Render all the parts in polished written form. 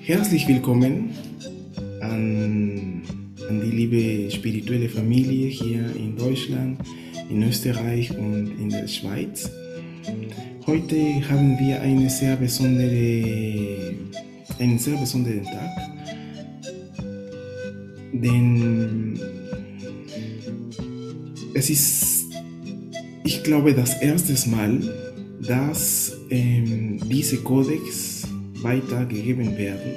Herzlich willkommen an die liebe spirituelle Familie hier in Deutschland, in Österreich und in der Schweiz. Heute haben wir einen sehr besonderen Tag, denn es ist, ich glaube, das erste Mal, dass diese Kodex weitergegeben werden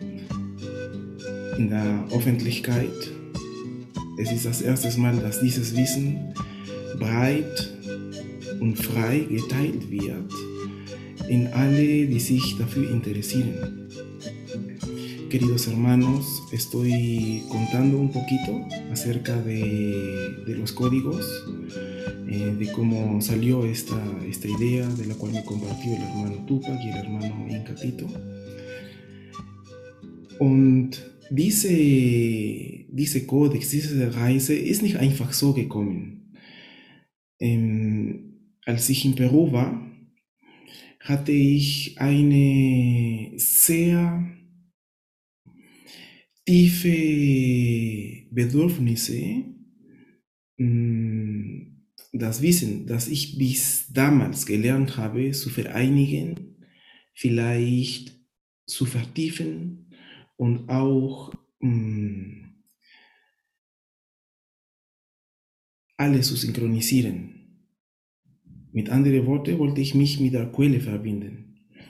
in der Öffentlichkeit. Es ist das erste Mal, dass dieses Wissen breit und frei geteilt wird en alle, die sich dafür interesieren. Queridos hermanos, estoy contando un poquito acerca de los códigos, de cómo salió esta idea de la cual me compartió el hermano Tupac y el hermano Incatito. Und diese Kodex, diese Reise ist nicht einfach so gekommen. Als ich in Peru war, hatte ich eine sehr tiefe Bedürfnisse, das Wissen, das ich bis damals gelernt habe, zu vereinigen, vielleicht zu vertiefen und auch alles zu synchronisieren. Mit anderen Worten wollte ich mich mit der Quelle verbinden.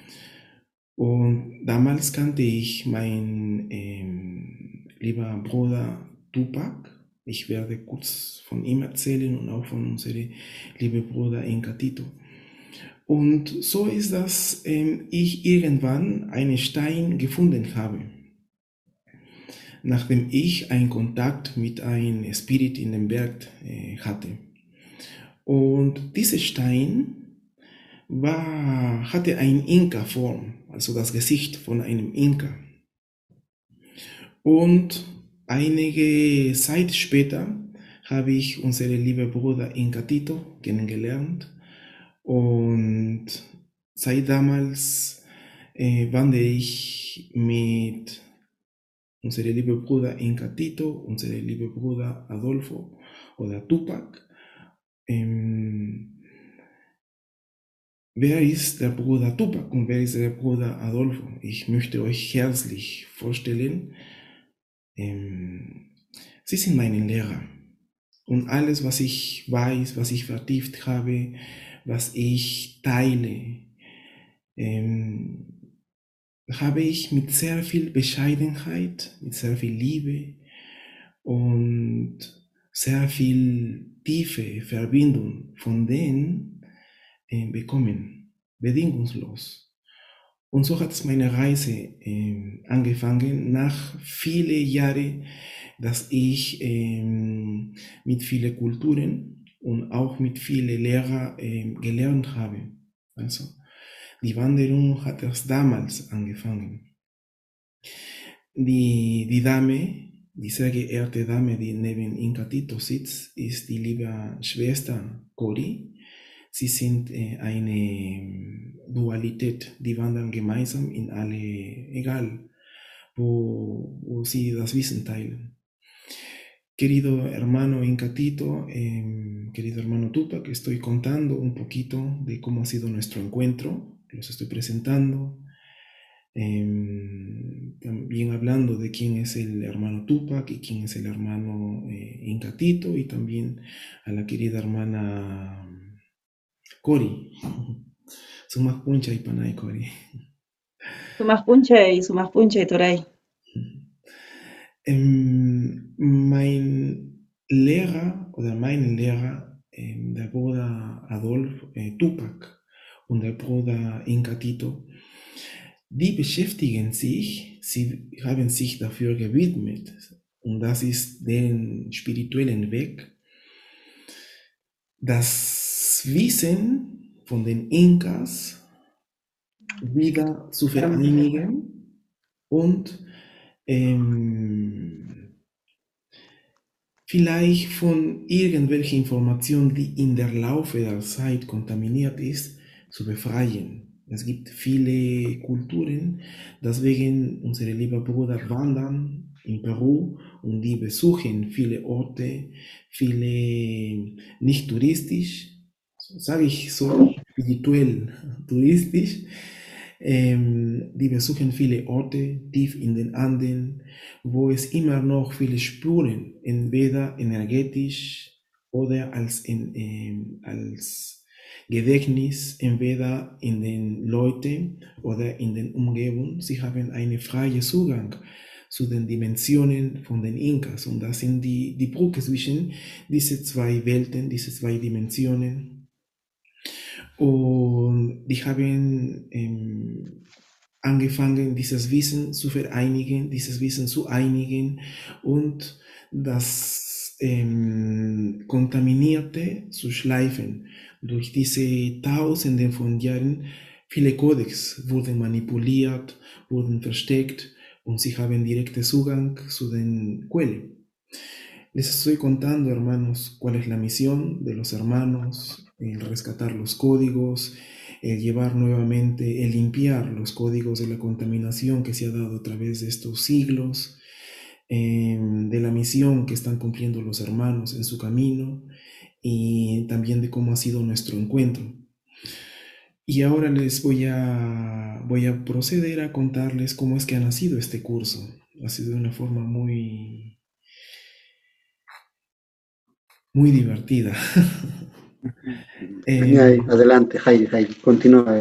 Und damals kannte ich meinen lieber Bruder Tupac. Ich werde kurz von ihm erzählen und auch von unserem lieben Bruder Incatito. Und so ist, dass ich irgendwann einen Stein gefunden habe, nachdem ich einen Kontakt mit einem Spirit in dem Berg hatte. Und dieser Stein hatte eine Inka-Form, also das Gesicht von einem Inka. Und einige Zeit später habe ich unseren lieben Bruder Incatito kennengelernt. Und seit damals wandere ich mit unserem lieben Bruder Incatito, unserem lieben Bruder Adolfo oder Tupac. Wer ist der Bruder Tupac und wer ist der Bruder Adolfo? Ich möchte euch herzlich vorstellen, sie sind meine Lehrer. Und alles, was ich weiß, was ich vertieft habe, was ich teile, habe ich mit sehr viel Bescheidenheit, mit sehr viel Liebe und sehr viel tiefe Verbindung von denen bekommen, bedingungslos. Und so hat meine Reise angefangen, nach vielen Jahren, dass ich mit vielen Kulturen und auch mit vielen Lehrern gelernt habe. Also die Wanderung hat erst damals angefangen. Die Dame, die sehr geehrte Dame, die neben Incatito sitzt, ist die liebe Schwester Cori. Sie sind eine Dualität, die wandern gemeinsam in alle, egal wo sie das Wissen teilen. Querido hermano Incatito, querido hermano Tupac, estoy contando un poquito de cómo ha sido nuestro encuentro, los estoy presentando, también hablando de quién es el hermano Tupac y quién es el hermano Incatito, y también a la querida hermana Cori. Sumak puncha y panay Cori. Sumaq p'unchay turay. Mein Lehrer oder mein Lehrer, der Bruder Adolf Tupac und der Bruder Incatito, die beschäftigen sich, sie haben sich dafür gewidmet, und das ist den spirituellen Weg, das Wissen von den Inkas wieder zu vereinigen und vielleicht von irgendwelchen Informationen, die in der Laufe der Zeit kontaminiert ist, zu befreien. Es gibt viele Kulturen, deswegen unsere lieben Brüder wandern in Peru und die besuchen viele Orte, viele nicht touristisch, sage ich so, spirituell touristisch. Die besuchen viele Orte tief in den Anden, wo es immer noch viele Spuren, entweder energetisch oder als Gedächtnis, entweder in den Leuten oder in den Umgebungen. Sie haben einen freien Zugang zu den Dimensionen von den Inkas. Und das sind die Brücke zwischen diese zwei Welten, diese zwei Dimensionen. Und die haben angefangen, dieses Wissen zu vereinigen, dieses Wissen zu einigen und das Kontaminierte zu schleifen. Durch diese Tausenden von Jahren, viele Codex wurden manipuliert, wurden versteckt und sie haben direkten Zugang zu den Quellen. Les estoy contando, hermanos, cuál es la misión de los hermanos, el rescatar los códigos, el llevar nuevamente, el limpiar los códigos de la contaminación que se ha dado a través de estos siglos, de la misión que están cumpliendo los hermanos en su camino y también de cómo ha sido nuestro encuentro. Y ahora voy a proceder a contarles cómo es que ha nacido este curso. Ha sido de una forma muy divertida. Adelante, Heidi, continúa.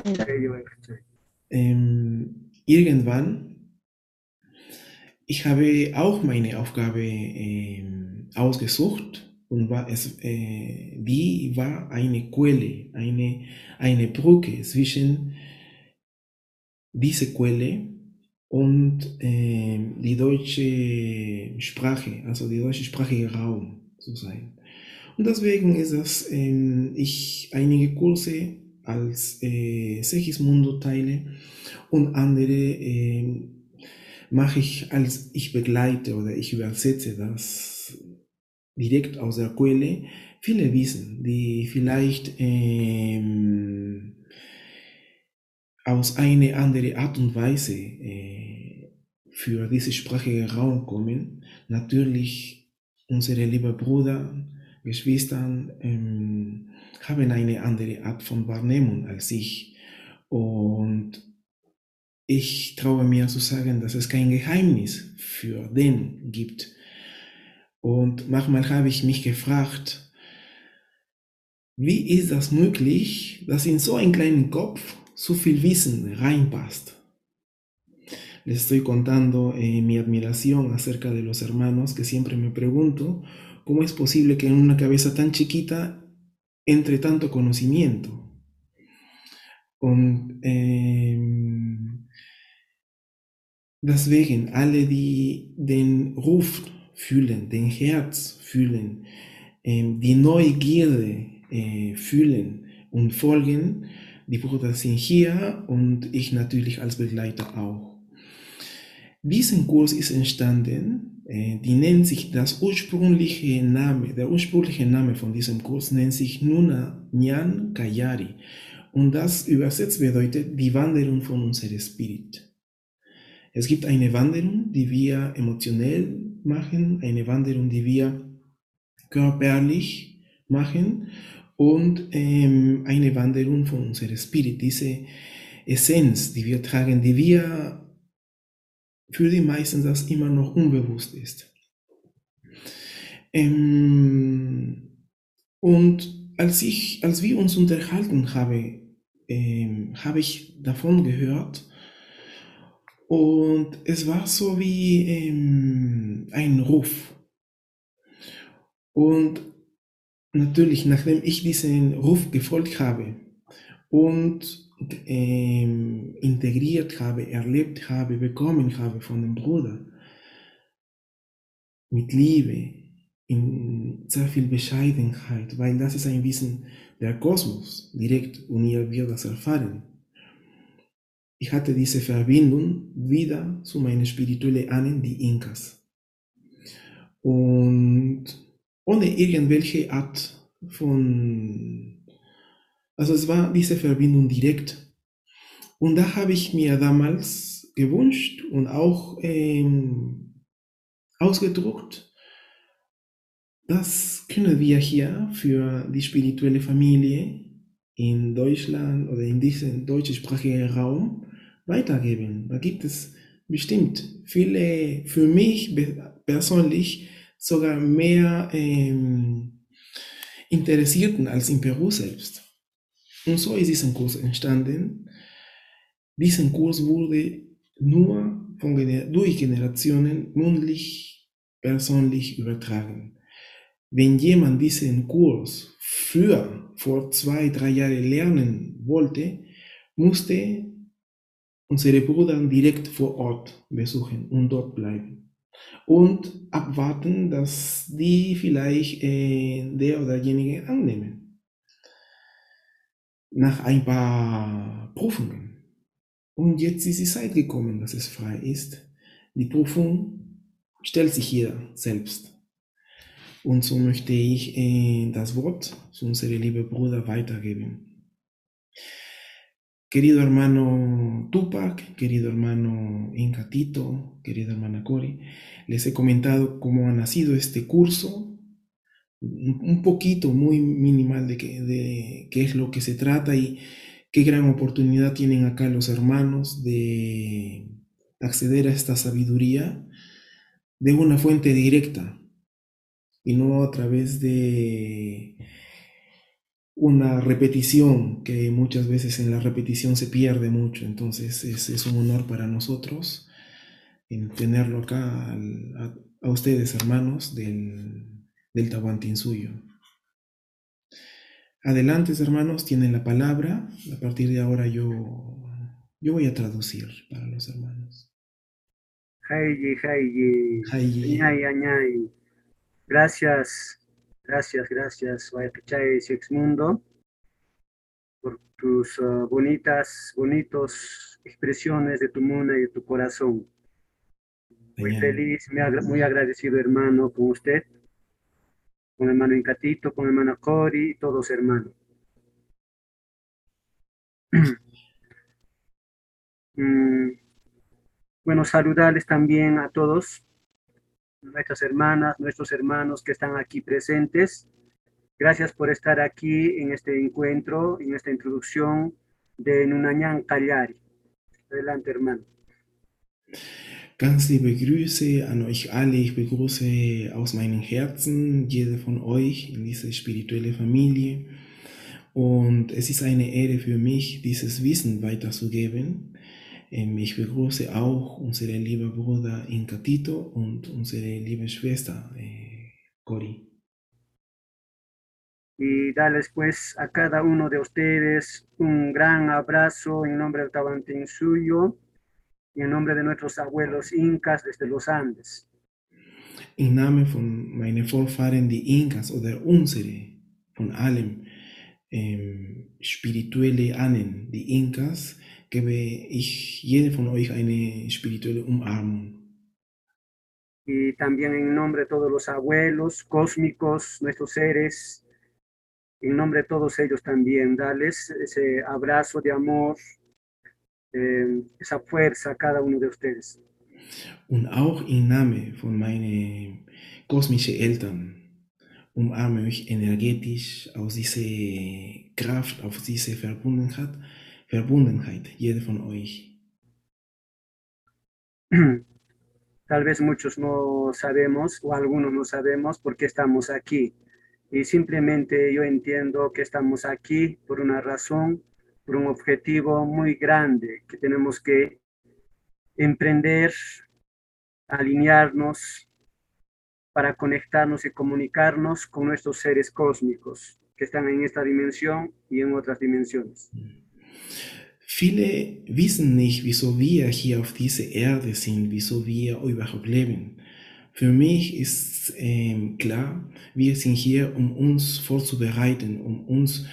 Irgendwann, ich habe auch meine Aufgabe ausgesucht und die war eine Quelle, eine Brücke zwischen dieser Quelle und die deutsche Sprache, also die deutschsprachige Raum zu sein. Und deswegen ist das, ich einige Kurse als Segismundo teile und andere mache ich als ich begleite oder ich übersetze das direkt aus der Quelle. Viele wissen, die vielleicht aus einer anderen Art und Weise für diese sprachige Raum kommen. Natürlich unsere lieben Brüder, Geschwistern haben eine andere Art von Wahrnehmung als ich. Und ich traue mir zu sagen, dass es kein Geheimnis für den gibt. Und manchmal habe ich mich gefragt, wie ist das möglich, dass in so einen kleinen Kopf so viel Wissen reinpasst? Les estoy contando mi admiración acerca de los hermanos, que siempre me pregunto cómo es posible que en una cabeza tan chiquita entre tanto conocimiento. Und deswegen alle, die den Ruf fühlen, den Herz fühlen, die Neugierde fühlen und folgen, die Brüder sind hier und ich natürlich als Begleiter auch. Diesen Kurs ist entstanden, die nennt sich der ursprüngliche Name von diesem Kurs nennt sich Nuna Nyan Kayari und das übersetzt bedeutet die Wanderung von unserem Spirit. Es gibt eine Wanderung, die wir emotionell machen, eine Wanderung, die wir körperlich machen und eine Wanderung von unserem Spirit, diese Essenz, die wir tragen, die wir für die meisten das immer noch unbewusst ist. Und als wir uns unterhalten haben, habe ich davon gehört und es war so wie ein Ruf. Und natürlich, nachdem ich diesen Ruf gefolgt habe und integriert habe, erlebt habe, bekommen habe von dem Bruder, mit Liebe, in sehr viel Bescheidenheit, weil das ist ein Wissen der Kosmos, direkt und ihr wird das erfahren. Ich hatte diese Verbindung wieder zu meinen spirituellen Ahnen, die Inkas. Und ohne irgendwelche Art von, also es war diese Verbindung direkt. Und da habe ich mir damals gewünscht und auch ausgedruckt, das können wir hier für die spirituelle Familie in Deutschland oder in diesem deutschsprachigen Raum weitergeben. Da gibt es bestimmt viele, für mich persönlich sogar mehr Interessierten als in Peru selbst. Und so ist dieser Kurs entstanden. Dieser Kurs wurde nur durch Generationen mündlich, persönlich übertragen. Wenn jemand diesen Kurs früher, vor 2, 3 Jahren lernen wollte, musste unsere Brüder direkt vor Ort besuchen und dort bleiben. Und abwarten, dass die vielleicht der oder derjenige annehmen. Nach ein paar Prüfungen. Und jetzt ist die Zeit gekommen, dass es frei ist. Die Prüfung stellt sich jeder selbst. Und so möchte ich das Wort zu unserem lieben Bruder weitergeben. Querido hermano Tupac, querido hermano Incatito, querida hermana Cori, les he comentado cómo ha nacido este curso, un poquito, muy minimal de qué es lo que se trata y qué gran oportunidad tienen acá los hermanos de acceder a esta sabiduría de una fuente directa y no a través de una repetición, que muchas veces en la repetición se pierde mucho. Entonces es un honor para nosotros en tenerlo acá a ustedes, hermanos del Tahuantinsuyo. Adelante, hermanos, tienen la palabra. A partir de ahora yo voy a traducir para los hermanos. Hayi, hayi, Hayi. añay, añay. Gracias, gracias, Guayacachay Sexmundo, por tus bonitos expresiones de tu muna y de tu corazón. Muy Añay. feliz, muy agradecido, hermano, con usted, con el hermano Incatito, con el hermano Cori, todos hermanos. Mm, Bueno, saludarles también a todos, nuestras hermanas, nuestros hermanos que están aquí presentes. Gracias por estar aquí en este encuentro, en esta introducción de Nunanyan Cagliari. Adelante, hermano. Ganz liebe Grüße an euch alle. Ich begrüße aus meinem Herzen jede von euch in diese spirituelle Familie. Und es ist eine Ehre für mich, dieses Wissen weiterzugeben. Ich begrüße auch unsere liebe Bruder Incatito und unsere liebe Schwester Cori. Y darles pues a cada uno de ustedes un gran abrazo en nombre del Tawantinsuyo y en nombre de nuestros abuelos incas desde los Andes. Im Namen von meinen Vorfahren, die Inkas oder unsere, von allem spirituelle Ahnen, die Inkas, gebe ich jedem von euch eine spirituelle Umarmung. Y también en nombre de todos los abuelos cósmicos, nuestros seres, en nombre de todos ellos también, darles ese abrazo de amor, esa fuerza a cada uno de ustedes. Und auch im Namen von meinen kosmischen Eltern umarme ich energetisch aus dieser Kraft, auf diese Verbundenheit, jeder von euch. Tal vez muchos no sabemos o algunos no sabemos por qué estamos aquí. Y simplemente yo entiendo que estamos aquí por una razón, por un objetivo muy grande que tenemos que emprender, alinearnos para conectarnos y comunicarnos con nuestros seres cósmicos que están en esta dimensión y en otras dimensiones. Viele wissen nicht, wieso wir hier auf dieser Erde sind, wieso wir überhaupt leben. Für mich ist klar, wir sind hier, um uns vorzubereiten, um uns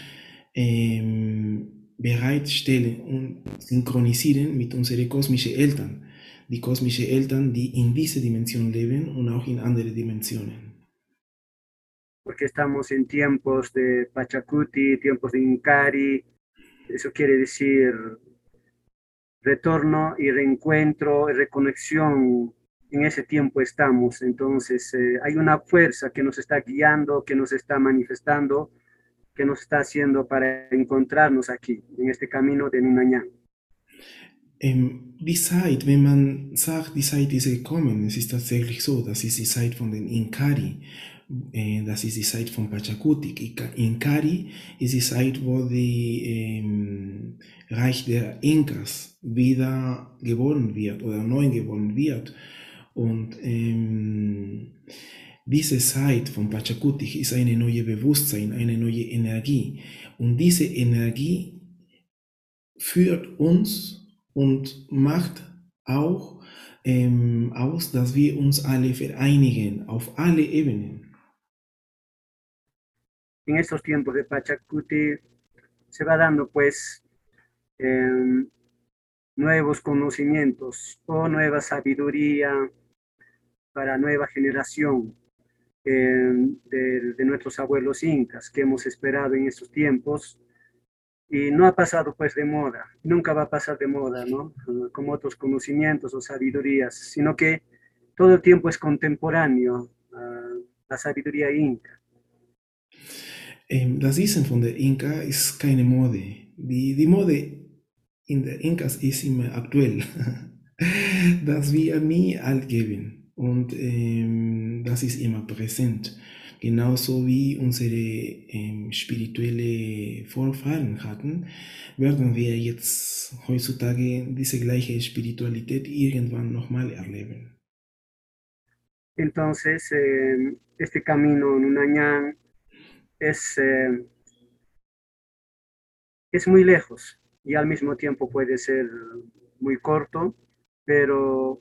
bereitstellen und synchronisieren mit unseren kosmischen Eltern. Die kosmischen Eltern, die in dieser Dimension leben und auch in anderen Dimensionen. Porque estamos en tiempos de Pachacuti, tiempos de Incari, eso quiere decir retorno y reencuentro y reconexión. En ese tiempo estamos. Entonces, hay una fuerza que nos está guiando, que nos está manifestando, que nos está haciendo para encontrarnos aquí, en este camino de Nunayán. Die Zeit, wenn man sagt, die Zeit ist gekommen, es ist tatsächlich so, das ist die Zeit von den Inkari, das ist die Zeit von Pachakutik. Inkari ist die Zeit, wo die Reich der Inkas wieder geboren wird oder neu geboren wird. Und diese Zeit von Pachakutik ist eine neue Bewusstsein, eine neue Energie. Und diese Energie führt uns und macht auch aus, dass wir uns alle vereinigen, auf alle Ebenen. En estos tiempos de Pachacuti se va dando pues nuevos conocimientos o nueva sabiduría para nueva generación de nuestros abuelos incas que hemos esperado en estos tiempos. Y no ha pasado pues de moda, nunca va a pasar de moda, ¿no? Como otros conocimientos o sabidurías, sino que todo el tiempo es contemporáneo, la sabiduría inca. Das Wissen von der Inka ist keine Mode. Die Mode in der Inkas ist immer aktuell. Das wir nie alt geben. Und das ist immer präsent. Genauso wie unsere spirituelle Vorfahren hatten, werden wir jetzt heutzutage diese gleiche Spiritualität irgendwann nochmal erleben. Entonces, este camino Nunayán es muy lejos y al mismo tiempo puede ser muy corto, pero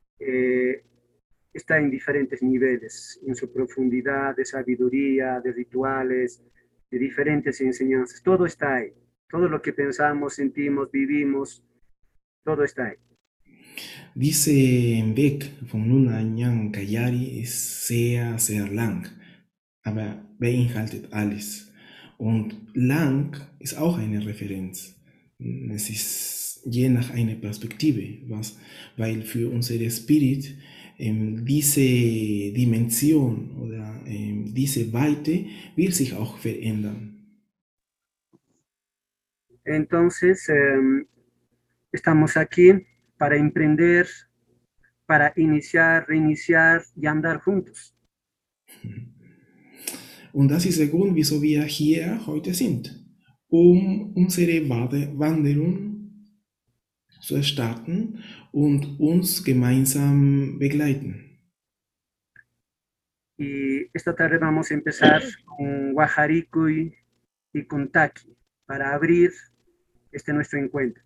está en diferentes niveles, en su profundidad de sabiduría, de rituales, de diferentes enseñanzas. Todo está ahí. Todo lo que pensamos, sentimos, vivimos, todo está ahí. Diese Weg von Nunayang Kayari ist sehr, sehr lang, aber beinhaltet alles. Und lang ist auch eine Referenz. Es ist je nach einer Perspektive, weil für unsere Spirit diese Dimension oder diese Weite wird sich auch verändern. Entonces, estamos aquí para emprender, para iniciar, reiniciar y andar juntos. Und das ist der Grund, wieso wir hier heute sind, um unsere Wanderung zu starten und uns gemeinsam begleiten. Y esta tarde vamos a empezar con Guajaricui y con Taki para abrir este nuestro encuentro.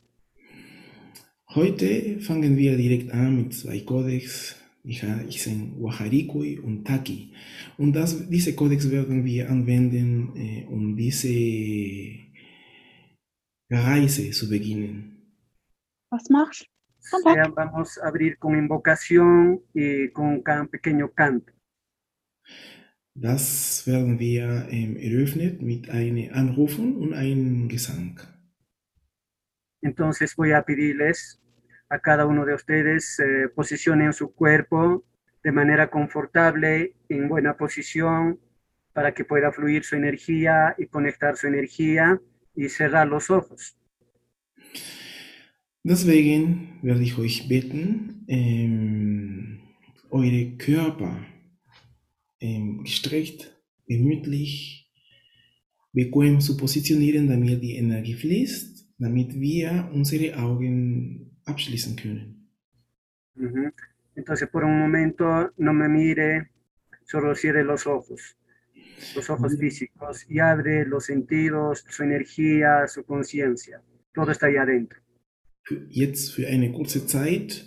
Heute fangen wir direkt an mit zwei Codex, die heißen Guajaricui und Taki. Und diese Codex werden wir anwenden, um diese Reise zu beginnen. Was machst du? Vamos a abrir con invocación y con un pequeño canto. Das werden wir eröffnet mit einem Anrufen und einem Gesang. Entonces voy a pedirles a cada uno de ustedes posicionen su cuerpo de manera confortable, en buena posición, para que pueda fluir su energía y conectar su energía y cerrar los ojos. Deswegen werde ich euch bitten, eure Körper gestreckt, gemütlich, bequem zu positionieren, damit die Energie fließt, damit wir unsere Augen abschließen können. Entonces, por un momento, no me mire, solo cierre los ojos físicos, y abre los sentidos, su energía, su conciencia. Todo está ahí adentro. Jetzt für eine kurze Zeit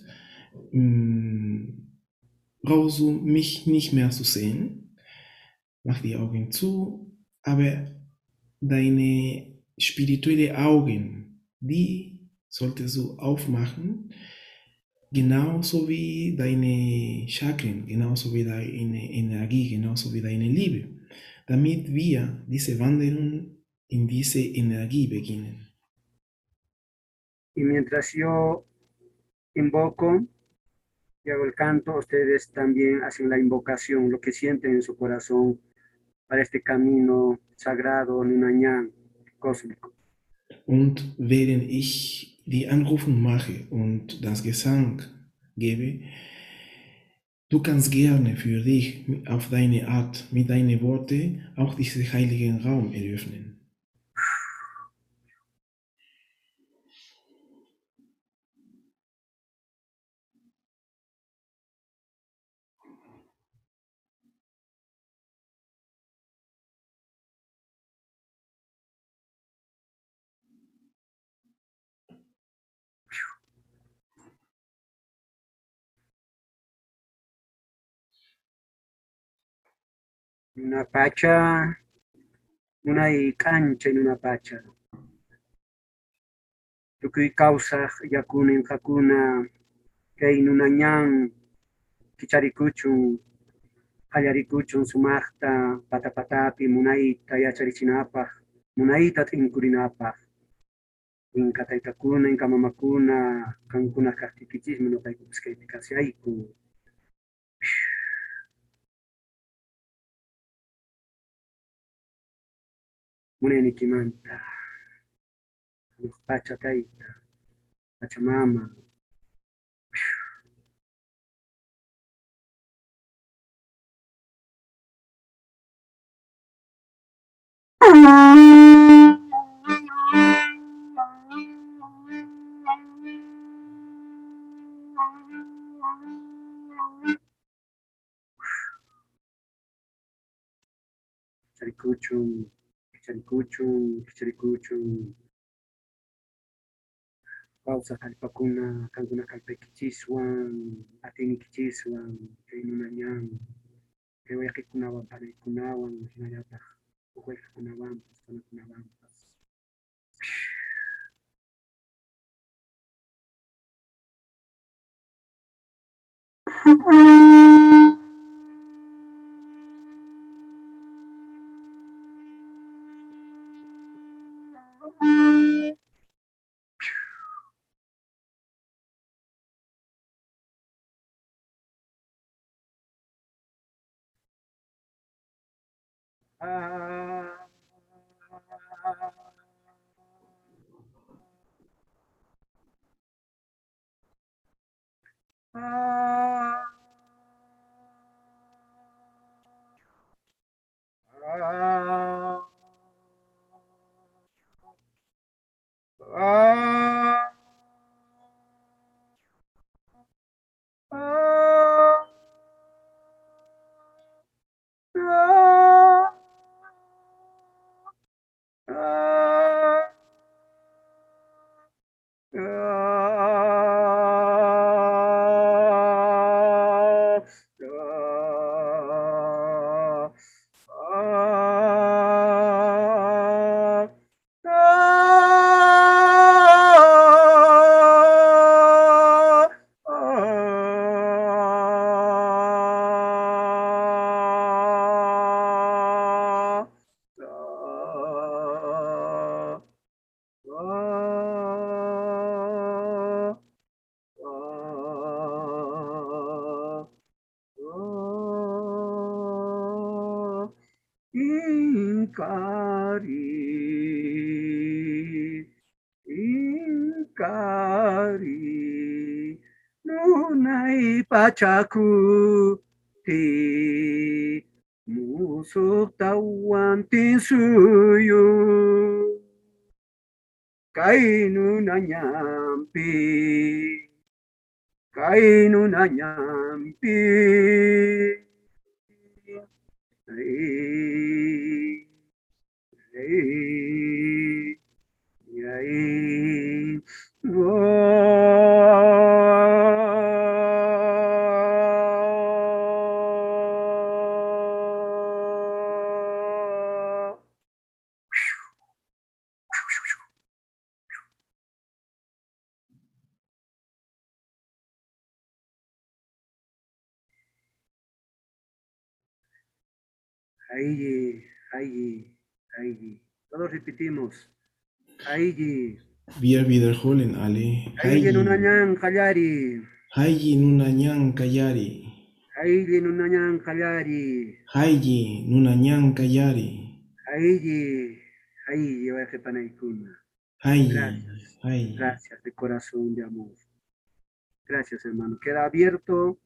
brauchst du mich nicht mehr zu sehen. Mach die Augen zu, aber deine spirituellen Augen, die solltest du aufmachen, genauso wie deine Chakren, genauso wie deine Energie, genauso wie deine Liebe, damit wir diese Wanderung in diese Energie beginnen. Y mientras yo invoco y hago el canto, ustedes también hacen la invocación, lo que sienten en su corazón para este camino sagrado, Nunayán, cósmico. Und während ich die Anrufung mache und das Gesang gebe, du kannst gerne für dich auf deine Art, mit deinen Worten auch diesen heiligen Raum eröffnen. Una pacha, una y cancha en una pacha. Tukuy causa yakuna en hakuna, que Nunayán, Kicharikuchun, Hayarikuchun, Sumachta, Patapatapi, Munaita, Yacharichinapa, Munaita, Tinkurinapa. Inka taytakuna, inka mamakuna, kankuna kaqtikichismi ñuqaykupas kaypi kasiyayku. Munaykimanta, pacha tayta, pachamama. Kicharicuchun, kicharicuchun, kicharicuchun. Pausa kallpakuna, kankuna kallpaykichiswan, atiniykichiswan, kay Nunayán, kay wayqikunawan, panaykunawan, hinallataq huk wayqikunawanpas, panakunawanpas. Inkari, Inkari, Nunay Pachaku, Ti, Musuk Tawan Tinsuyu, Kainu Nanyampi, Kainu Nanyampi. Aigi, Aigi, Aigi. Todos repetimos. Aigi, Wir wiederholen alle. Haile Nunañan Kallari. Hayi Nunanyan Kayari. Haile Nunañan Kallari. Hayi Nunanyan Kayari. Haile Vajepanaikuna. Hayi. Gracias. Hayi. Gracias de corazón, de amor. Gracias, hermano. Queda abierto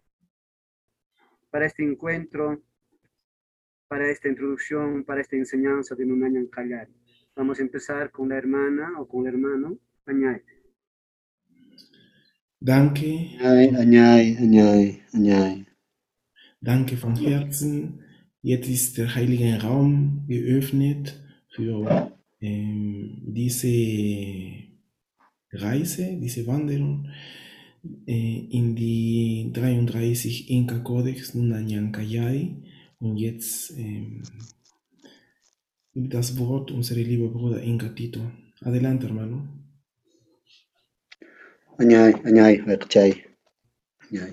para este encuentro, para esta introducción, para esta enseñanza de Nunañan Kallari. Vamos a empezar con la hermana o con el hermano Añay. Danke. Añay. Danke von Herzen. Jetzt ist der heilige Raum geöffnet für diese Reise, diese Wanderung in die 33 Inka-Kodex Nunanyan Kayai. Und jetzt das Wort unser lieber Bruder Inka Tito. Adelante, hermano. Añay, Wekchay. Añay.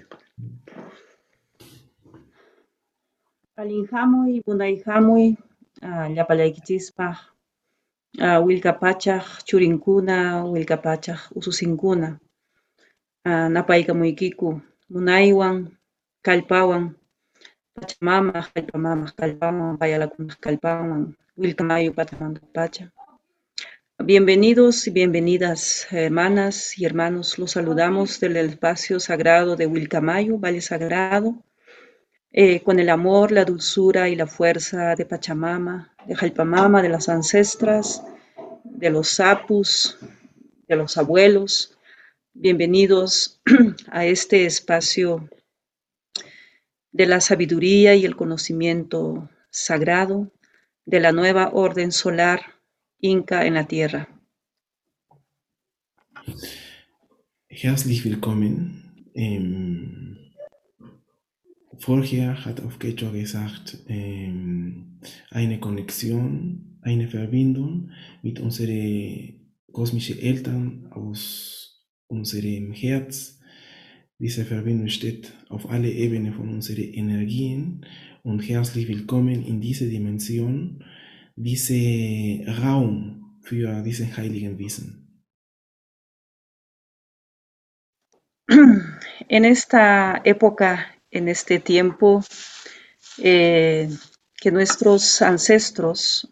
Palinhamuy, Bunayhamuy, Llapallaykichispaj, Willkapachaj, Churinkuna, Willkapachaj, Ususinkuna, Napaykamuykiku, Munaywan, Kallpawan, Pachamama, Kallpawan, Payalakunaj Kallpawan, Willkamayu Patamantapacha. Bienvenidos y bienvenidas, hermanas y hermanos. Los saludamos del espacio sagrado de Willkamayu, Valle Sagrado, con el amor, la dulzura y la fuerza de Pachamama, de Jalpamama, de las ancestras, de los sapus, de los abuelos. Bienvenidos a este espacio de la sabiduría y el conocimiento sagrado de la nueva orden solar Inca en la Tierra. Herzlich willkommen. Vorher hat auf Quechua gesagt, eine Konnexion, eine Verbindung mit unseren kosmischen Eltern aus unserem Herz. Diese Verbindung steht auf alle Ebenen von unseren Energien und herzlich willkommen in diese Dimension, diese Raum für diesen heiligen Wissen. En esta época, en este tiempo, que nuestros ancestros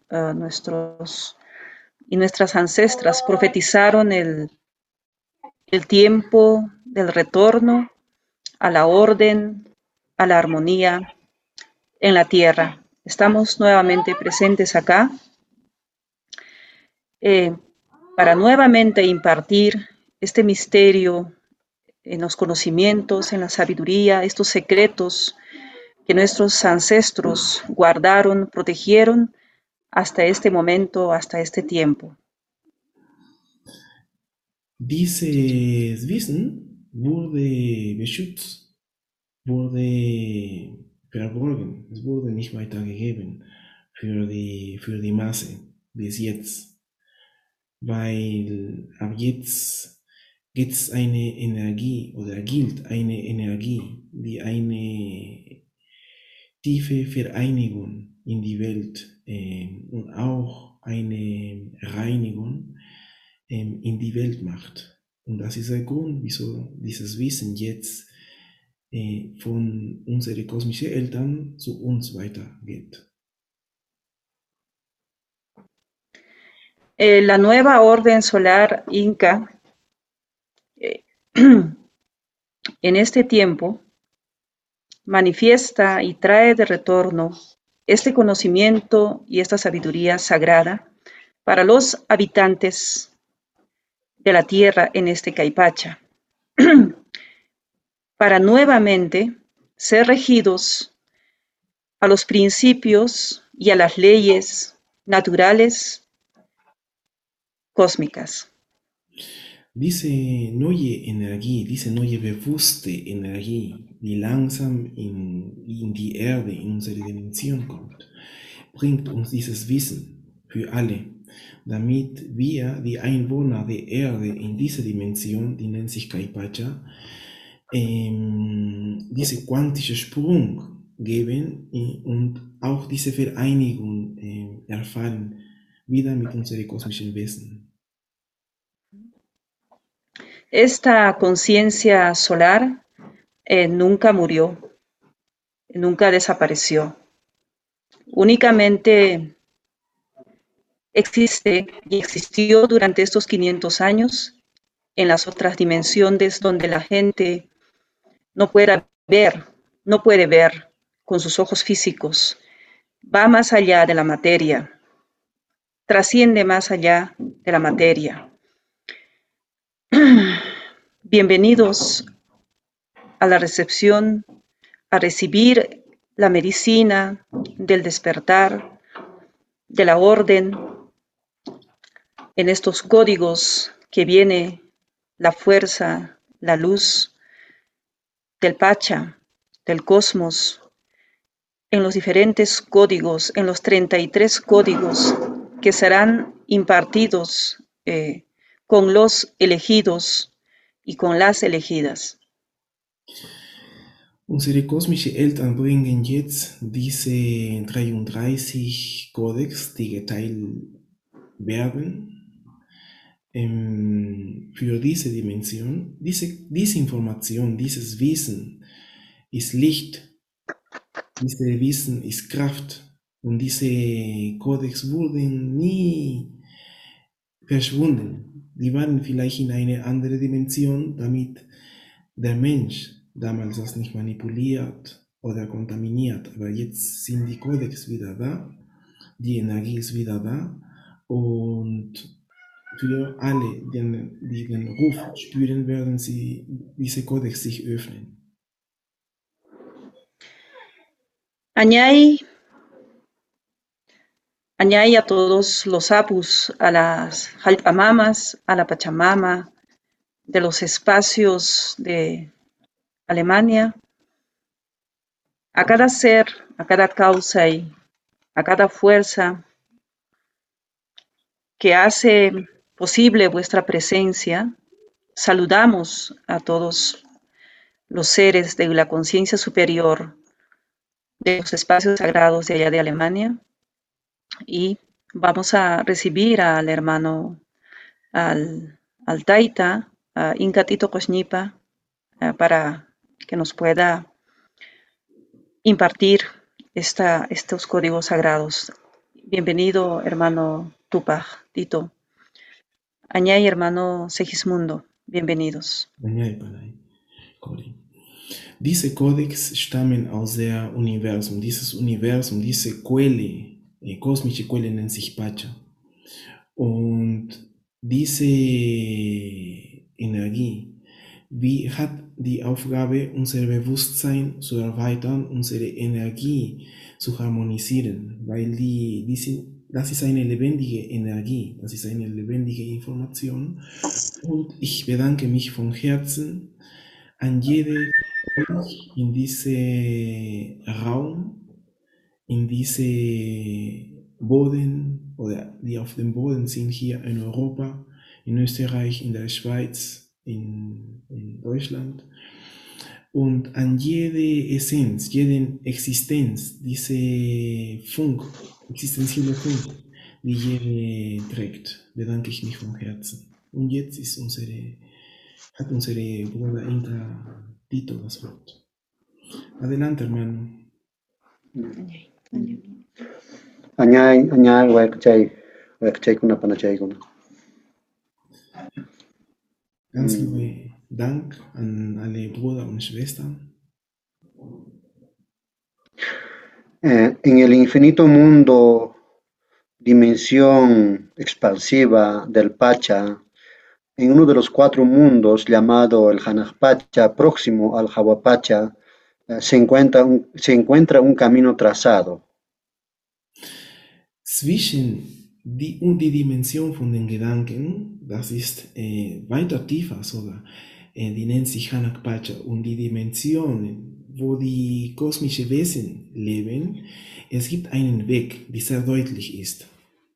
y nuestras ancestras profetizaron el tiempo del retorno a la orden, a la armonía en la tierra. Estamos nuevamente presentes acá para nuevamente impartir este misterio en los conocimientos, en la sabiduría, estos secretos que nuestros ancestros guardaron, protegieron hasta este momento, hasta este tiempo. Dieses Wissen wurde beschützt, wurde verborgen, es wurde nicht weitergegeben für die Masse bis jetzt, weil ab jetzt gibt es eine Energie oder gilt eine Energie, die eine tiefe Vereinigung in die Welt und auch eine Reinigung in die Welt macht. Und das ist der Grund, wieso dieses Wissen jetzt von unseren kosmischen Eltern zu uns weitergeht. La nueva orden solar Inca en este tiempo manifiesta y trae de retorno este conocimiento y esta sabiduría sagrada para los habitantes de la tierra en este Caipacha, para nuevamente ser regidos a los principios y a las leyes naturales cósmicas. Diese neue Energie, diese neue bewusste Energie, die langsam in die Erde, in unsere Dimension kommt, bringt uns dieses Wissen für alle, damit wir, die Einwohner der Erde in dieser Dimension, die nennt sich Caipacha, diese quantische Sprung geben und auch diese Vereinigung erfahren, wieder mit unseren kosmischen Wesen. esta conciencia solar nunca murió, nunca desapareció. Únicamente existe y existió durante estos 500 años en las otras dimensiones donde la gente no puede ver con sus ojos físicos, va más allá de la materia, trasciende más allá de la materia. Bienvenidos a la recepción, a recibir la medicina del despertar, de la orden, en estos códigos que viene la fuerza, la luz del Pacha, del cosmos, en los diferentes códigos, en los 33 códigos que serán impartidos con los elegidos y con las elegidas. Unsere kosmische Eltern bringen jetzt diese 33 Codex, die geteilt werden, für diese Dimension. Diese Information, dieses Wissen ist Licht, dieses Wissen ist Kraft und diese Codex wurden nie verschwunden. Die waren vielleicht in eine andere Dimension, damit der Mensch damals das nicht manipuliert oder kontaminiert. Aber jetzt sind die Codex wieder da, die Energie ist wieder da und für alle, die den Ruf spüren, werden sie diese Codex sich öffnen. Añay a todos los apus, a las jalpamamas, a la Pachamama, de los espacios de Alemania, a cada ser, a cada causa y a cada fuerza que hace posible vuestra presencia. Saludamos a todos los seres de la conciencia superior de los espacios sagrados de allá de Alemania y vamos a recibir al hermano, al Taita, a Inkatito Koshnipa, para que nos pueda impartir estos códigos sagrados. Bienvenido, hermano Tupac, Tito. Añay, hermano Segismundo, bienvenidos. Añay, Panay, Kori. Diese Codex stammen aus der Universum. Dieses Universum, diese Quelle, kosmische Quelle nennt sich Pacha. Und diese Energie hat die Aufgabe, unser Bewusstsein zu erweitern, unsere Energie zu harmonisieren, weil das ist eine lebendige Energie, das ist eine lebendige Information. Und ich bedanke mich von Herzen an jede in diesem Raum, in diese Boden oder die auf dem Boden sind hier in Europa, in Österreich, in der Schweiz, in Deutschland und an jede Essenz, jede Existenz, diese existenzielle Funk, die jede trägt, bedanke ich mich von Herzen. Und jetzt ist hat unsere Bruder Inka Tito das Wort. Adelante, hermano. Añay, wakachay kuna panachay kuna. Ganz liebe Dank an alle Brüder und Schwestern. En el infinito mundo, dimensión expansiva del Pacha, en uno de los 4 mundos llamado el Hanaj-Pacha, próximo al Hawa-Pacha, se encuentra un camino trazado. Zwischen die Dimension von den Gedanken, das ist weiter tiefer sogar, die nennt sich Hanaj-Pacha, und die Dimensionen, wo die kosmischen Wesen leben, es gibt einen Weg, der sehr deutlich ist.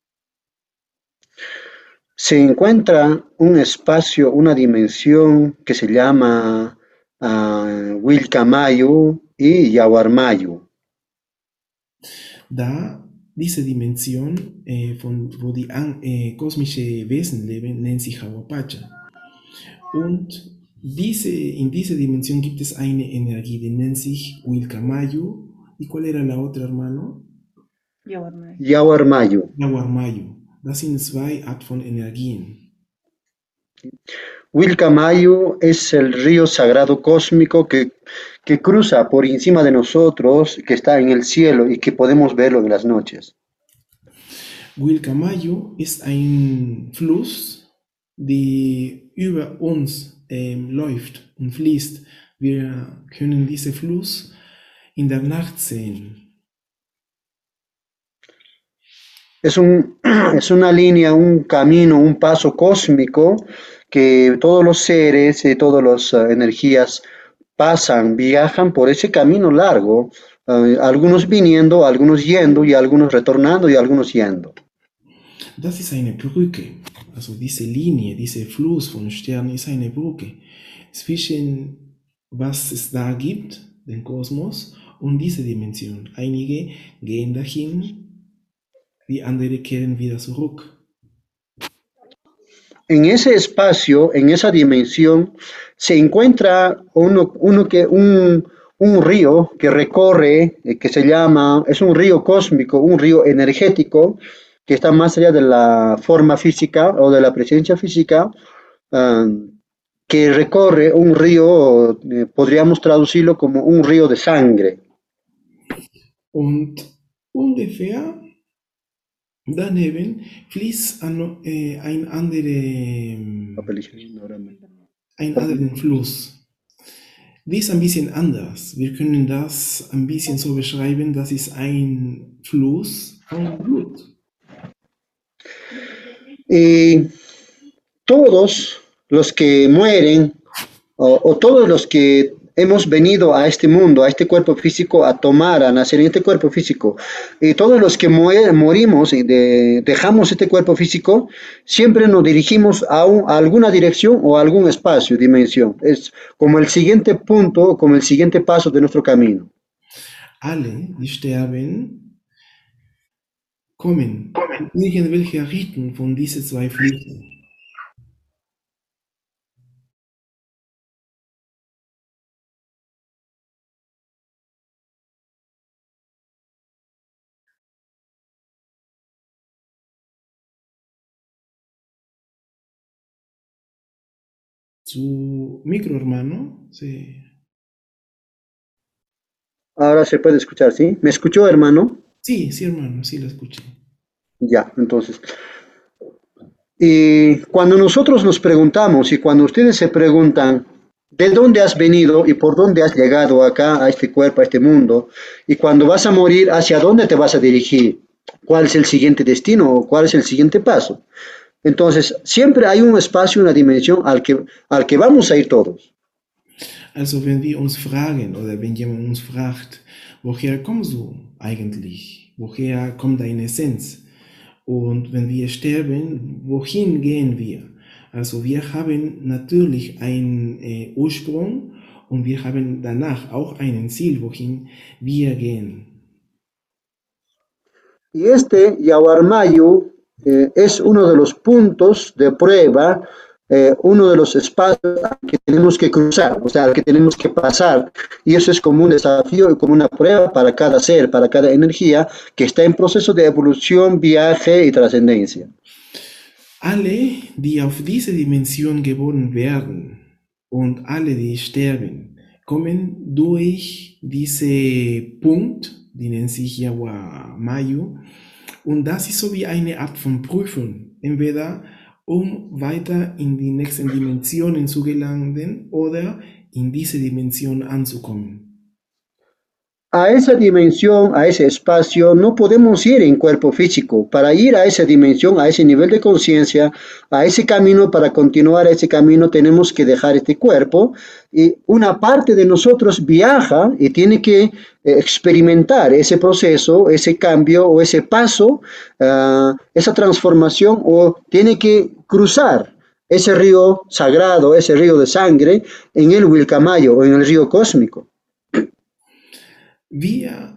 Se encuentra un espacio, una dimensión que se llama Wilcamayu y Yawarmayu. Da diese Dimension, wo die kosmischen Wesen leben, nennt sich Hawa-Pacha. Und in dieser Dimensión gibt es eine Energie, die nennt sich Wilcamayu. ¿Y cuál era la otra, hermano? Yawarmayu. Yawarmayu. Das sind zwei Arten von Energien. Wilcamayu es el río sagrado cósmico que cruza por encima de nosotros, que está en el cielo y que podemos verlo en las noches. Wilcamayu ist ein Fluss, der über uns läuft und fließt. Wir können diesen Fluss in der Nacht sehen. Es una línea, un camino, un paso cósmico que todos los seres y todas las energías pasan, viajan por ese camino largo, algunos viniendo, algunos yendo y algunos retornando y algunos yendo. Das ist eine Brücke, also diese Linie, dieser Fluss von Sternen ist eine Brücke zwischen was es da gibt, den Kosmos, und diese Dimension. Einige gehen dahin, die anderen kehren wieder zurück. En ese espacio, en esa dimensión, se encuentra un río que recorre, que se llama, es un río cósmico, un río energético, que está más allá de la forma física o de la presencia física, que recorre un río, podríamos traducirlo como un río de sangre. Und ungefähr daneben fließt ein anderen Fluss. Die ist ein bisschen anders. Wir können das ein bisschen so beschreiben, das ist ein Fluss von Blut. Y todos los que mueren, o todos los que hemos venido a este mundo, a este cuerpo físico, a tomar, a nacer en este cuerpo físico, y todos los que morimos y dejamos este cuerpo físico, siempre nos dirigimos a alguna dirección o a algún espacio, dimensión. Es como el siguiente punto, como el siguiente paso de nuestro camino. Alle, die sterben, kommen in irgendwelche Richtung von diesen zwei Flüssen. Su micro, hermano, sí. Ahora se puede escuchar, ¿sí? ¿Me escuchó, hermano? Sí, hermano, sí lo escuché. Ya, entonces. Y cuando nosotros nos preguntamos y cuando ustedes se preguntan, ¿de dónde has venido y por dónde has llegado acá, a este cuerpo, a este mundo? Y cuando vas a morir, ¿hacia dónde te vas a dirigir? ¿Cuál es el siguiente destino o cuál es el siguiente paso? Entonces, siempre hay un espacio, una dimensión al que vamos a ir todos. Also wenn wir uns fragen oder wenn jemand uns fragt, woher kommst du eigentlich? Woher kommt deine Essenz? Und wenn wir sterben, wohin gehen wir? Also wir haben natürlich einen Ursprung und wir haben danach auch ein Ziel, wohin wir gehen. Y este Yawarmayu es uno de los puntos de prueba, uno de los espacios que tenemos que cruzar, o sea, que tenemos que pasar. Y eso es como un desafío y como una prueba para cada ser, para cada energía que está en proceso de evolución, viaje y trascendencia. Alle, die auf diese Dimension geboren werden und alle, die sterben, kommen durch diesen Punkt, die nennt sich Yawarmayu, und das ist so wie eine Art von Prüfung, entweder weiter in die nächsten Dimensionen zu gelangen oder in diese Dimension anzukommen. A esa dimensión, a ese espacio, no podemos ir en cuerpo físico. Para ir a esa dimensión, a ese nivel de conciencia, a ese camino, para continuar ese camino, tenemos que dejar este cuerpo. Y una parte de nosotros viaja y tiene que experimentar ese proceso, ese cambio o ese paso, esa transformación, o tiene que cruzar ese río sagrado, ese río de sangre, en el Wilcamayu o en el río cósmico.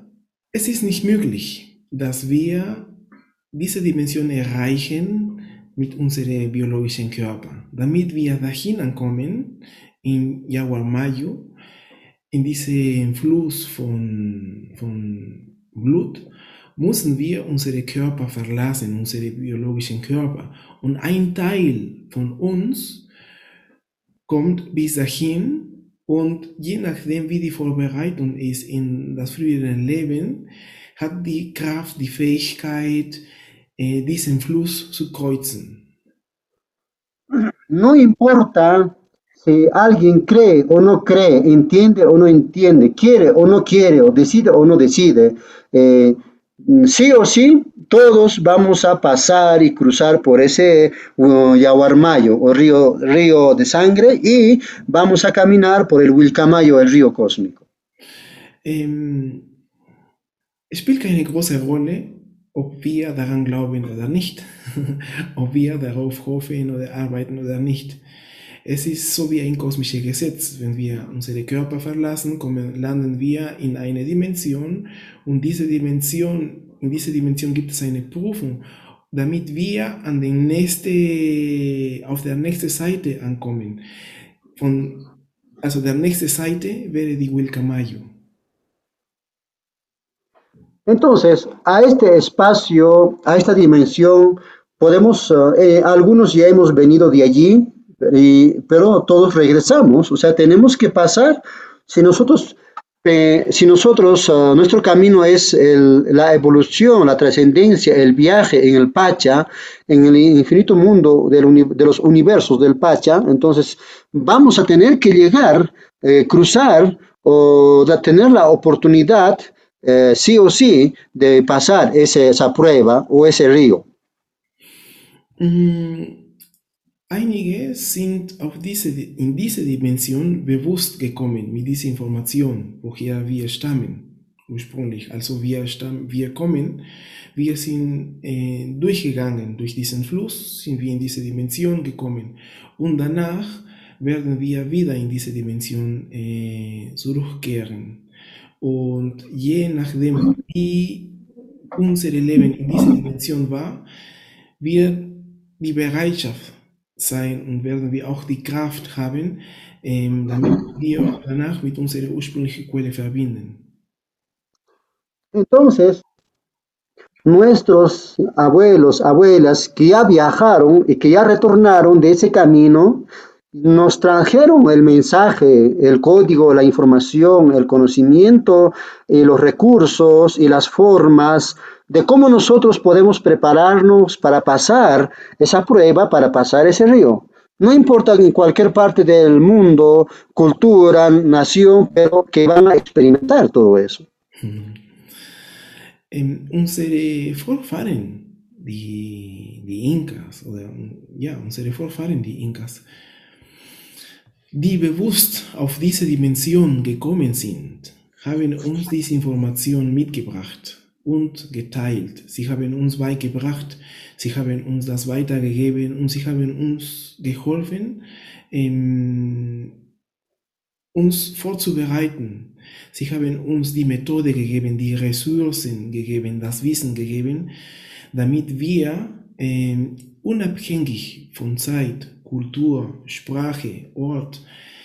Es ist nicht möglich, dass wir diese Dimension erreichen, mit unserem biologischen Körper. Damit wir dahin ankommen, in Yaguarmayo, in diesen Fluss von Blut, müssen wir unsere Körper verlassen, unsere biologischen Körper. Und ein Teil von uns kommt bis dahin und je nachdem, wie die Vorbereitung ist in das frühere Leben, hat die Kraft, die Fähigkeit, diesen Fluss zu kreuzen. No importa si alguien cree o no cree, entiende o no entiende, quiere o no quiere, o decide o no decide, sí o sí, todos vamos a pasar y cruzar por ese Yaguarmayo o río de sangre y vamos a caminar por el Wilcamayo, el río cósmico. Es spielt keine große Rolle, ob wir daran glauben oder nicht, ob wir darauf hoffen oder arbeiten oder nicht. Es ist so wie ein kosmisches Gesetz. Wenn wir unsere Körper verlassen, landen wir in eine Dimension und in dieser Dimension gibt es eine Prüfung, damit wir auf der nächsten Seite ankommen. Also der nächste Seite wäre die Wilcamayo. Entonces, a este espacio, a esta dimensión, podemos, algunos ya hemos venido de allí, pero todos regresamos, o sea, tenemos que pasar, si nosotros, nuestro camino es la evolución, la trascendencia, el viaje en el Pacha, en el infinito mundo de los universos del Pacha, entonces vamos a tener que llegar, cruzar o tener la oportunidad sí o sí de pasar esa prueba o ese río. Einige sind in diese Dimension bewusst gekommen mit dieser Information, woher wir stammen, ursprünglich. Also wir sind durchgegangen, durch diesen Fluss sind wir in diese Dimension gekommen und danach werden wir wieder in diese Dimension zurückkehren. Und je nachdem, wie unser Leben in dieser Dimension war, wird die Bereitschaft sein und werden wir auch die Kraft haben, damit wir danach mit unserer ursprünglichen Quelle verbinden. Entonces, nuestros abuelos, abuelas que ya viajaron y que ya retornaron de ese camino, nos trajeron el mensaje, el código, la información, el conocimiento, los recursos y las formas de cómo nosotros podemos prepararnos para pasar esa prueba, para pasar ese río. No importa en cualquier parte del mundo, cultura, nación, pero que van a experimentar todo eso. Unsere Vorfahren, die Inkas, unsere Vorfahren, die Inkas, die bewusst auf diese Dimension gekommen sind, haben uns diese Information mitgebracht und geteilt. Sie haben uns beigebracht, sie haben uns das weitergegeben und sie haben uns geholfen, uns vorzubereiten. Sie haben uns die Methode gegeben, die Ressourcen gegeben, das Wissen gegeben, damit wir unabhängig von Zeit, Kultur, Sprache, Ort,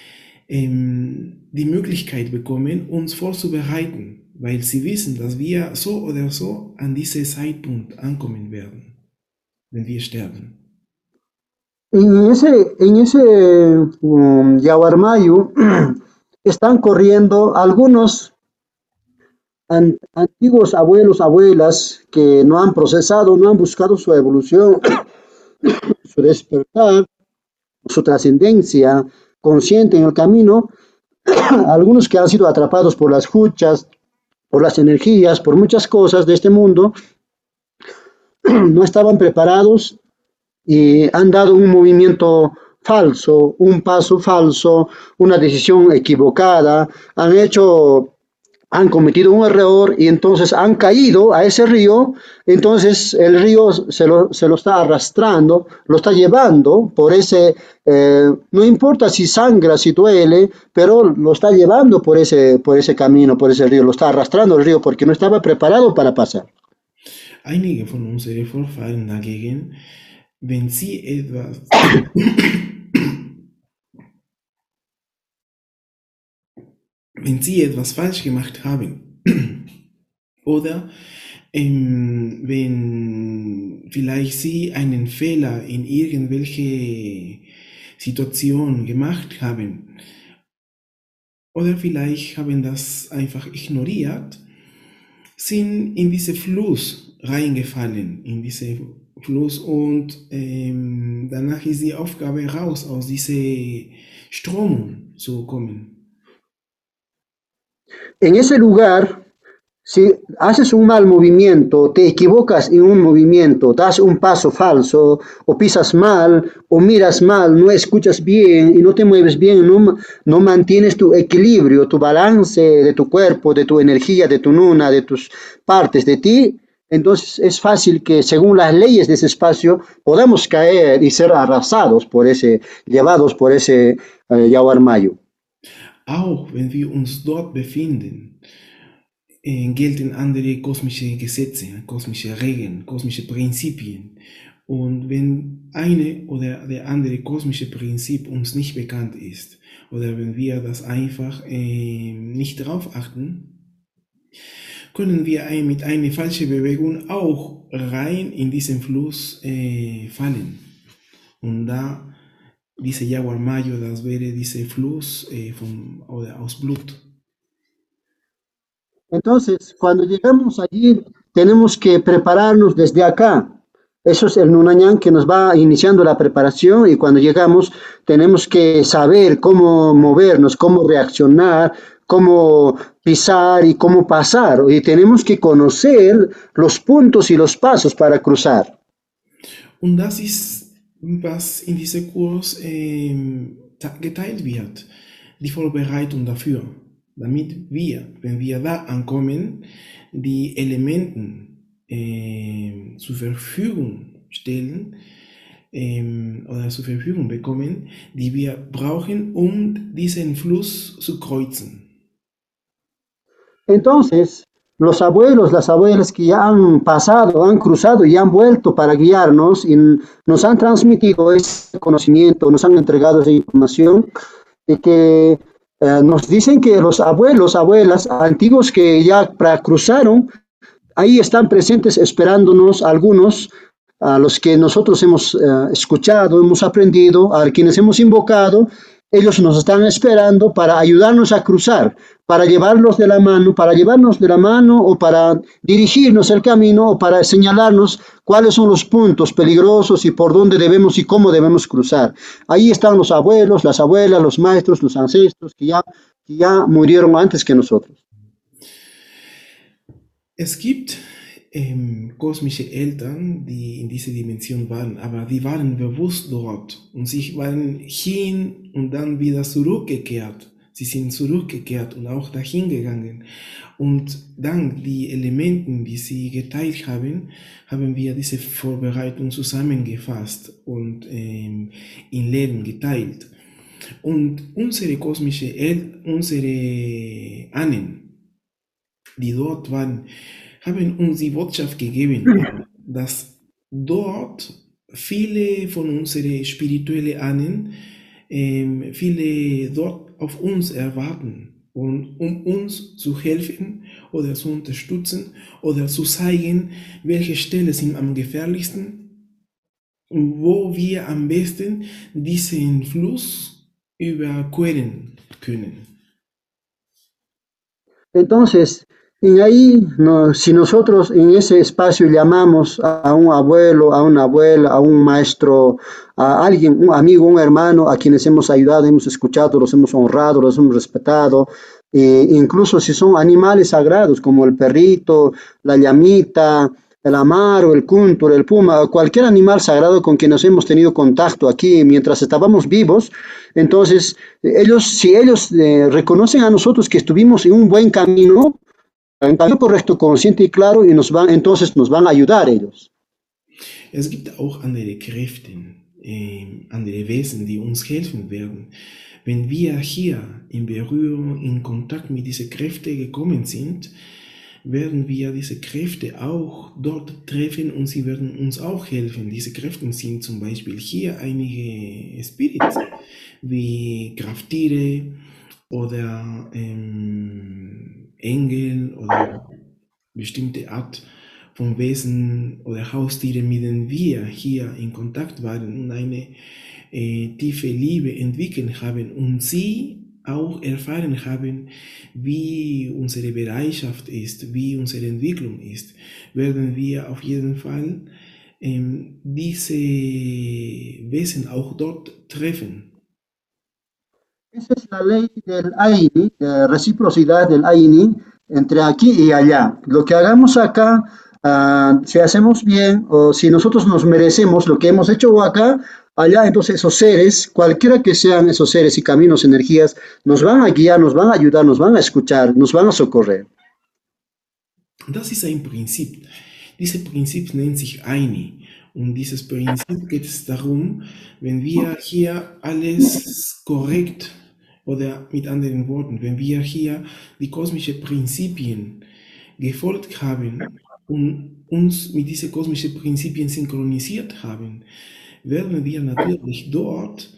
die Möglichkeit bekommen, uns vorzubereiten, weil sie wissen, dass wir so oder so an diesem Zeitpunkt ankommen werden, wenn wir sterben. En ese Yaguarmayo están corriendo algunos antiguos abuelos, abuelas que no han procesado, no han buscado su evolución, su despertar, su trascendencia consciente en el camino, algunos que han sido atrapados por las huchas, por las energías, por muchas cosas de este mundo, no estaban preparados y han dado un movimiento falso, un paso falso, una decisión equivocada, han cometido un error y entonces han caído a ese río, entonces el río se lo está arrastrando, lo está llevando por ese, no importa si sangra, si duele, pero lo está llevando por ese camino, por ese río, lo está arrastrando el río porque no estaba preparado para pasar. Einige von unseren Vorfahren dagegen wenn Sie etwas, wenn Sie etwas falsch gemacht haben oder wenn vielleicht Sie einen Fehler in irgendwelche Situation gemacht haben oder vielleicht haben das einfach ignoriert, sind in diesen Fluss reingefallen, in diesen Fluss und danach ist die Aufgabe raus, aus dieser Strömung zu kommen. En ese lugar, si haces un mal movimiento, te equivocas en un movimiento, das un paso falso, o pisas mal, o miras mal, no escuchas bien y no te mueves bien, no mantienes tu equilibrio, tu balance de tu cuerpo, de tu energía, de tu nuna, de tus partes de ti, entonces es fácil que según las leyes de ese espacio podamos caer y ser arrasados por ese, llevados por ese Yawar Mayo. Auch wenn wir uns dort befinden, gelten andere kosmische Gesetze, kosmische Regeln, kosmische Prinzipien. Und wenn eine oder der andere kosmische Prinzip uns nicht bekannt ist oder wenn wir das einfach nicht darauf achten, können wir mit einer falschen Bewegung auch rein in diesen Fluss fallen. Und da diese Yawar Mayo, das wäre dieser Fluss aus Blut. Entonces, cuando llegamos allí, tenemos que prepararnos desde acá. Eso es el Nunañán que nos va iniciando la preparación y cuando llegamos tenemos que saber cómo movernos, cómo reaccionar, cómo pisar y cómo pasar. Y tenemos que conocer los puntos y los pasos para cruzar. Und das ist, was in diesem Kurs geteilt wird, die Vorbereitung dafür, damit wir, wenn wir da ankommen, die Elemente zur Verfügung stellen oder zur Verfügung bekommen, die wir brauchen, um diesen Fluss zu kreuzen. Entonces, los abuelos, las abuelas que ya han pasado, han cruzado y han vuelto para guiarnos y nos han transmitido ese conocimiento, nos han entregado esa información y que nos dicen que los abuelos, abuelas antiguos que ya cruzaron, ahí están presentes esperándonos algunos, a los que nosotros hemos escuchado, hemos aprendido, a quienes hemos invocado, ellos nos están esperando para ayudarnos a cruzar, para llevarnos de la mano o para dirigirnos el camino o para señalarnos cuáles son los puntos peligrosos y por dónde debemos y cómo debemos cruzar. Ahí están los abuelos, las abuelas, los maestros, los ancestros que ya murieron antes que nosotros. Es gibt kosmische Eltern, die in dieser Dimension waren, aber die waren bewusst dort und sie waren hin und dann wieder zurückgekehrt. Sie sind zurückgekehrt und auch dahin gegangen. Und dank die Elementen, die sie geteilt haben, haben wir diese Vorbereitung zusammengefasst und in Leben geteilt. Und unsere kosmische Eltern, unsere Ahnen, die dort waren, haben uns die Botschaft gegeben, dass dort viele von unseren spirituellen Ahnen, viele dort auf uns erwarten, und um uns zu helfen oder zu unterstützen oder zu zeigen, welche Stellen sind am gefährlichsten und wo wir am besten diesen Fluss überqueren können. Entonces, y ahí, si nosotros en ese espacio llamamos a un abuelo, a una abuela, a un maestro, a alguien, un amigo, un hermano, a quienes hemos ayudado, hemos escuchado, los hemos honrado, los hemos respetado, incluso si son animales sagrados como el perrito, la llamita, el amaro, el cúntur, el puma, cualquier animal sagrado con quien nos hemos tenido contacto aquí mientras estábamos vivos, entonces si ellos reconocen a nosotros que estuvimos en un buen camino, ein camino correcto, consciente y claro, y entonces nos van a ayudar ellos. Es gibt auch andere Kräfte, andere Wesen, die uns helfen werden. Wenn wir hier in Berührung, in Kontakt mit diesen Kräften gekommen sind, werden wir diese Kräfte auch dort treffen und sie werden uns auch helfen. Diese Kräfte sind zum Beispiel hier einige Spirits wie Krafttiere oder Engel oder bestimmte Art von Wesen oder Haustiere, mit denen wir hier in Kontakt waren und eine tiefe Liebe entwickelt haben und sie auch erfahren haben, wie unsere Bereitschaft ist, wie unsere Entwicklung ist, werden wir auf jeden Fall diese Wesen auch dort treffen. Esa es la ley del Aini, de reciprocidad del Aini entre aquí y allá. Lo que hagamos acá, si hacemos bien o si nosotros nos merecemos lo que hemos hecho acá, allá entonces esos seres, cualquiera que sean esos seres y caminos, energías, nos van a guiar, nos van a ayudar, nos van a escuchar, nos van a socorrer. Das ist ein Prinzip. Dieses Prinzip nennt sich Aini. Und dieses Prinzip geht es darum, wenn wir hier alles korrekt oder mit anderen Worten, wenn wir hier die kosmischen Prinzipien gefolgt haben und uns mit diesen kosmischen Prinzipien synchronisiert haben, werden wir natürlich dort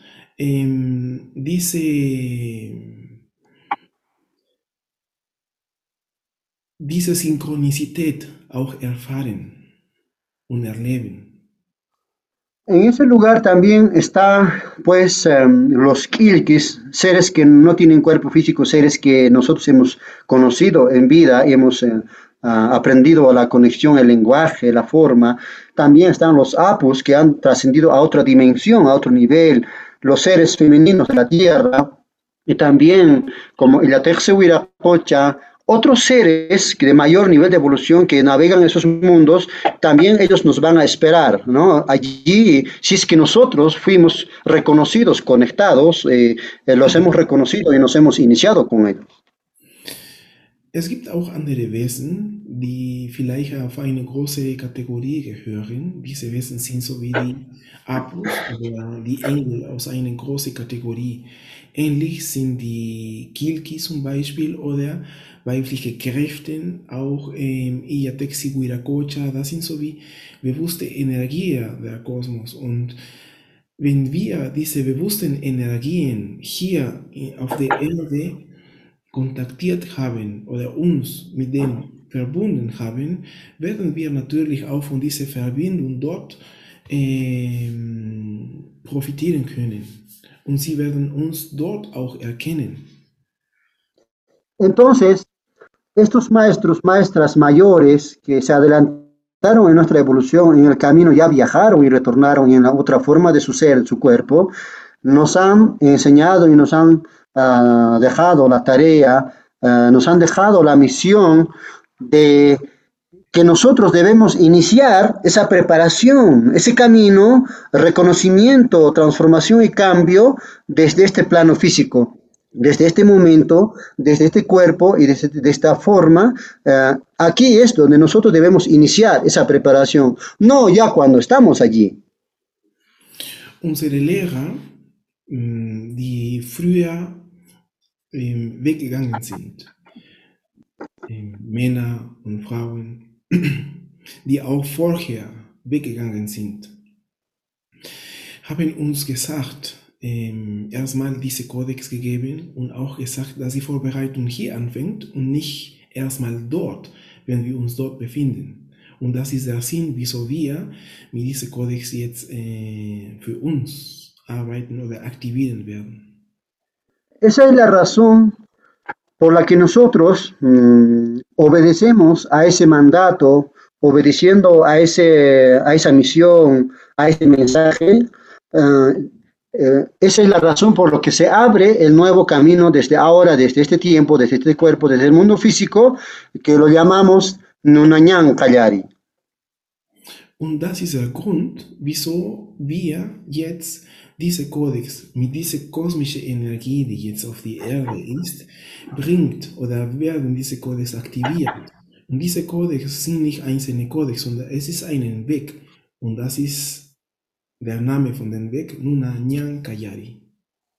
diese Synchronizität auch erfahren und erleben. En ese lugar también está, pues, los Kilkis, seres que no tienen cuerpo físico, seres que nosotros hemos conocido en vida y hemos aprendido la conexión, el lenguaje, la forma. También están los Apus, que han trascendido a otra dimensión, a otro nivel, los seres femeninos de la tierra, y también, como la Pocha, otros seres de mayor nivel de evolución que navegan esos mundos, también ellos nos van a esperar, ¿no? Allí, si es que nosotros fuimos reconocidos, conectados, los hemos reconocido y nos hemos iniciado con ellos. Es gibt auch andere Wesen, die vielleicht auf eine große Kategorie gehören. Diese Wesen sind so wie die Apus oder die Engel aus einer großen Kategorie. Ähnlich sind die Kilki zum Beispiel oder weibliche Kräfte, auch Iyatexi Huiracocha, das sind so wie bewusste Energien der Kosmos. Und wenn wir diese bewussten Energien hier auf der Erde kontaktiert haben oder uns mit denen verbunden haben, werden wir natürlich auch von dieser Verbindung dort profitieren können. Und sie werden uns dort auch erkennen. Entonces, estos maestros, maestras mayores que se adelantaron en nuestra evolución, en el camino ya viajaron y retornaron en la otra forma de su ser, en su cuerpo, nos han enseñado y nos han dejado la tarea, nos han dejado la misión de que nosotros debemos iniciar esa preparación, ese camino, reconocimiento, transformación y cambio desde este plano físico. Desde este momento, desde este cuerpo y de esta forma, aquí es donde nosotros debemos iniciar esa preparación, no ya cuando estamos allí. Unsere Lehrer, die früher weggegangen sind, Männer und Frauen, die auch vorher weggegangen sind, haben uns gesagt, erstmal diese Kodex gegeben und auch gesagt, dass die Vorbereitung hier anfängt und nicht erstmal dort, wenn wir uns dort befinden. Und das ist der Sinn, wieso wir mit diesem Kodex jetzt für uns arbeiten oder aktivieren werden. Esa es la razón por la que nosotros obedecemos a ese mandato, obedeciendo a esa misión, a ese mensaje. Esa es la razón por la que se abre el nuevo camino desde ahora, desde este tiempo, desde este cuerpo, desde el mundo físico, que lo llamamos Nunanyan Kallari. Und das ist der Grund, wieso wir jetzt diese Kodex mit dieser kosmischen Energie, die jetzt auf die Erde ist, bringt oder werden diese Kodex aktiviert. Und diese Kodex sind nicht einzelne Kodex, sondern es ist ein Weg. Und das ist der Name von dem Weg, Nunanyan Kallari.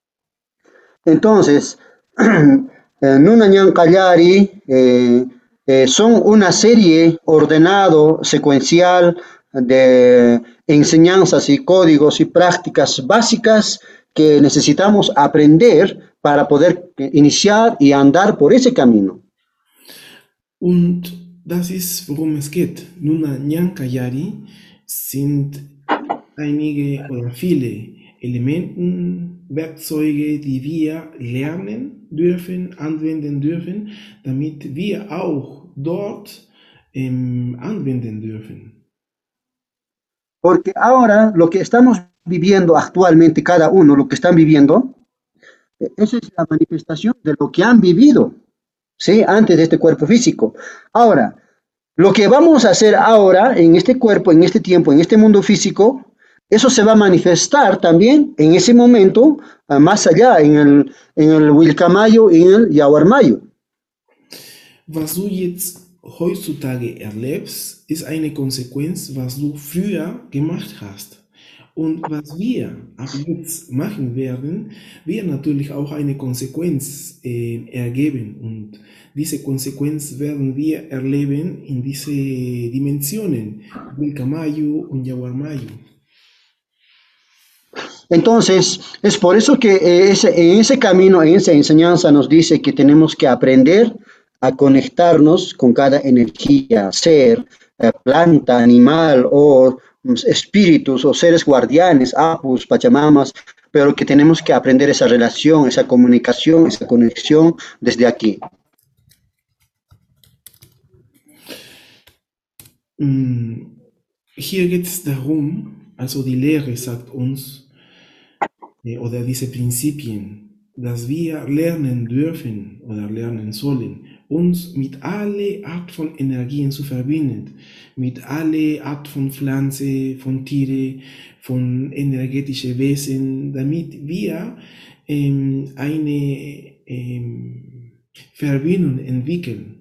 Entonces, Nunanyan Kallari son una serie ordenado, secuencial de enseñanzas y códigos y prácticas básicas que necesitamos aprender para poder iniciar y andar por ese camino. Und das ist, worum es geht. Nuna Nyankayari sind einige oder viele Elementen, Werkzeuge, die wir lernen dürfen, anwenden dürfen, damit wir auch dort anwenden dürfen. Porque ahora lo que estamos viviendo actualmente, cada uno, lo que están viviendo, esa es la manifestación de lo que han vivido, ¿sí? Antes de este cuerpo físico. Ahora, lo que vamos a hacer ahora en este cuerpo, en este tiempo, en este mundo físico, eso se va a manifestar también en ese momento, más allá, en el Wilcamayo y en el Yaguarmayo. Was du jetzt heutzutage erlebst, ist eine Konsequenz, was du früher gemacht hast. Und was wir ab jetzt machen werden, wird natürlich auch eine Konsequenz ergeben. Und diese Konsequenz werden wir erleben in diese Dimensionen, Wilcamayo und Yaguarmayo. Entonces, es por eso que en ese camino, en esa enseñanza nos dice que tenemos que aprender a conectarnos con cada energía, ser, planta, animal o espíritus o seres guardianes, apus, pachamamas, pero que tenemos que aprender esa relación, esa comunicación, esa conexión desde aquí. Hier geht es darum, also die Lehre sagt uns, oder diese Prinzipien, dass wir lernen dürfen oder lernen sollen, uns mit alle Art von Energien zu verbinden, mit alle Art von Pflanze, von Tiere, von energetischen Wesen, damit wir eine Verbindung entwickeln.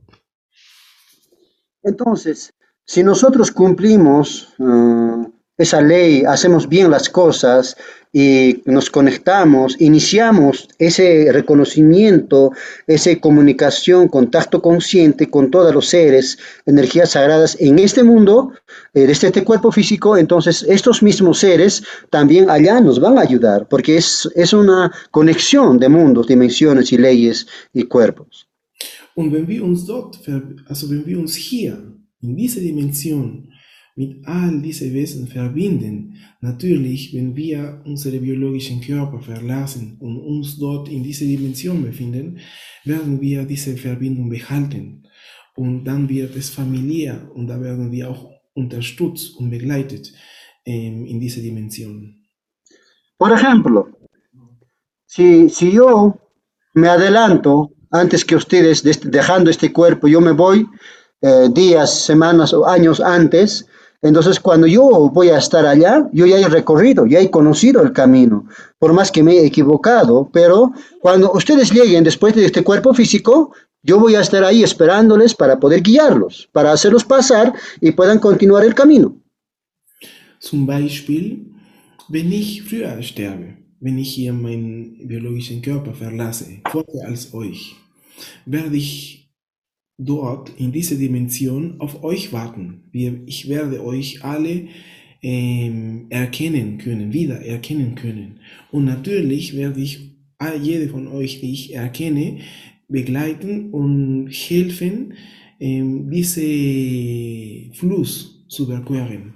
Entonces, si nosotros cumplimos esa ley, hacemos bien las cosas y nos conectamos, iniciamos ese reconocimiento, esa comunicación, contacto consciente con todos los seres, energías sagradas en este mundo, desde este cuerpo físico, entonces estos mismos seres también allá nos van a ayudar, porque es una conexión de mundos, dimensiones y leyes y cuerpos. Und wenn wir uns dort, also wenn wir uns hier in dieser Dimension mit all diesen Wesen verbinden, natürlich, wenn wir unsere biologischen Körper verlassen und uns dort in dieser Dimension befinden, werden wir diese Verbindung behalten. Und dann wird es familiär und da werden wir auch unterstützt und begleitet in dieser Dimension. Por ejemplo, si yo me adelanto antes que ustedes, dejando este cuerpo, yo me voy días, semanas o años antes, entonces cuando yo voy a estar allá, yo ya he recorrido, ya he conocido el camino, por más que me he equivocado, pero cuando ustedes lleguen después de este cuerpo físico, yo voy a estar ahí esperándoles para poder guiarlos, para hacerlos pasar y puedan continuar el camino. Zum Beispiel, wenn ich früher sterbe, wenn ich hier meinen biologischen Körper verlasse, vorher als euch, werde ich dort in dieser Dimension auf euch warten. Ich werde euch alle erkennen können, wieder erkennen können. Und natürlich werde ich jede von euch, die ich erkenne, begleiten und helfen, diesen Fluss zu überqueren.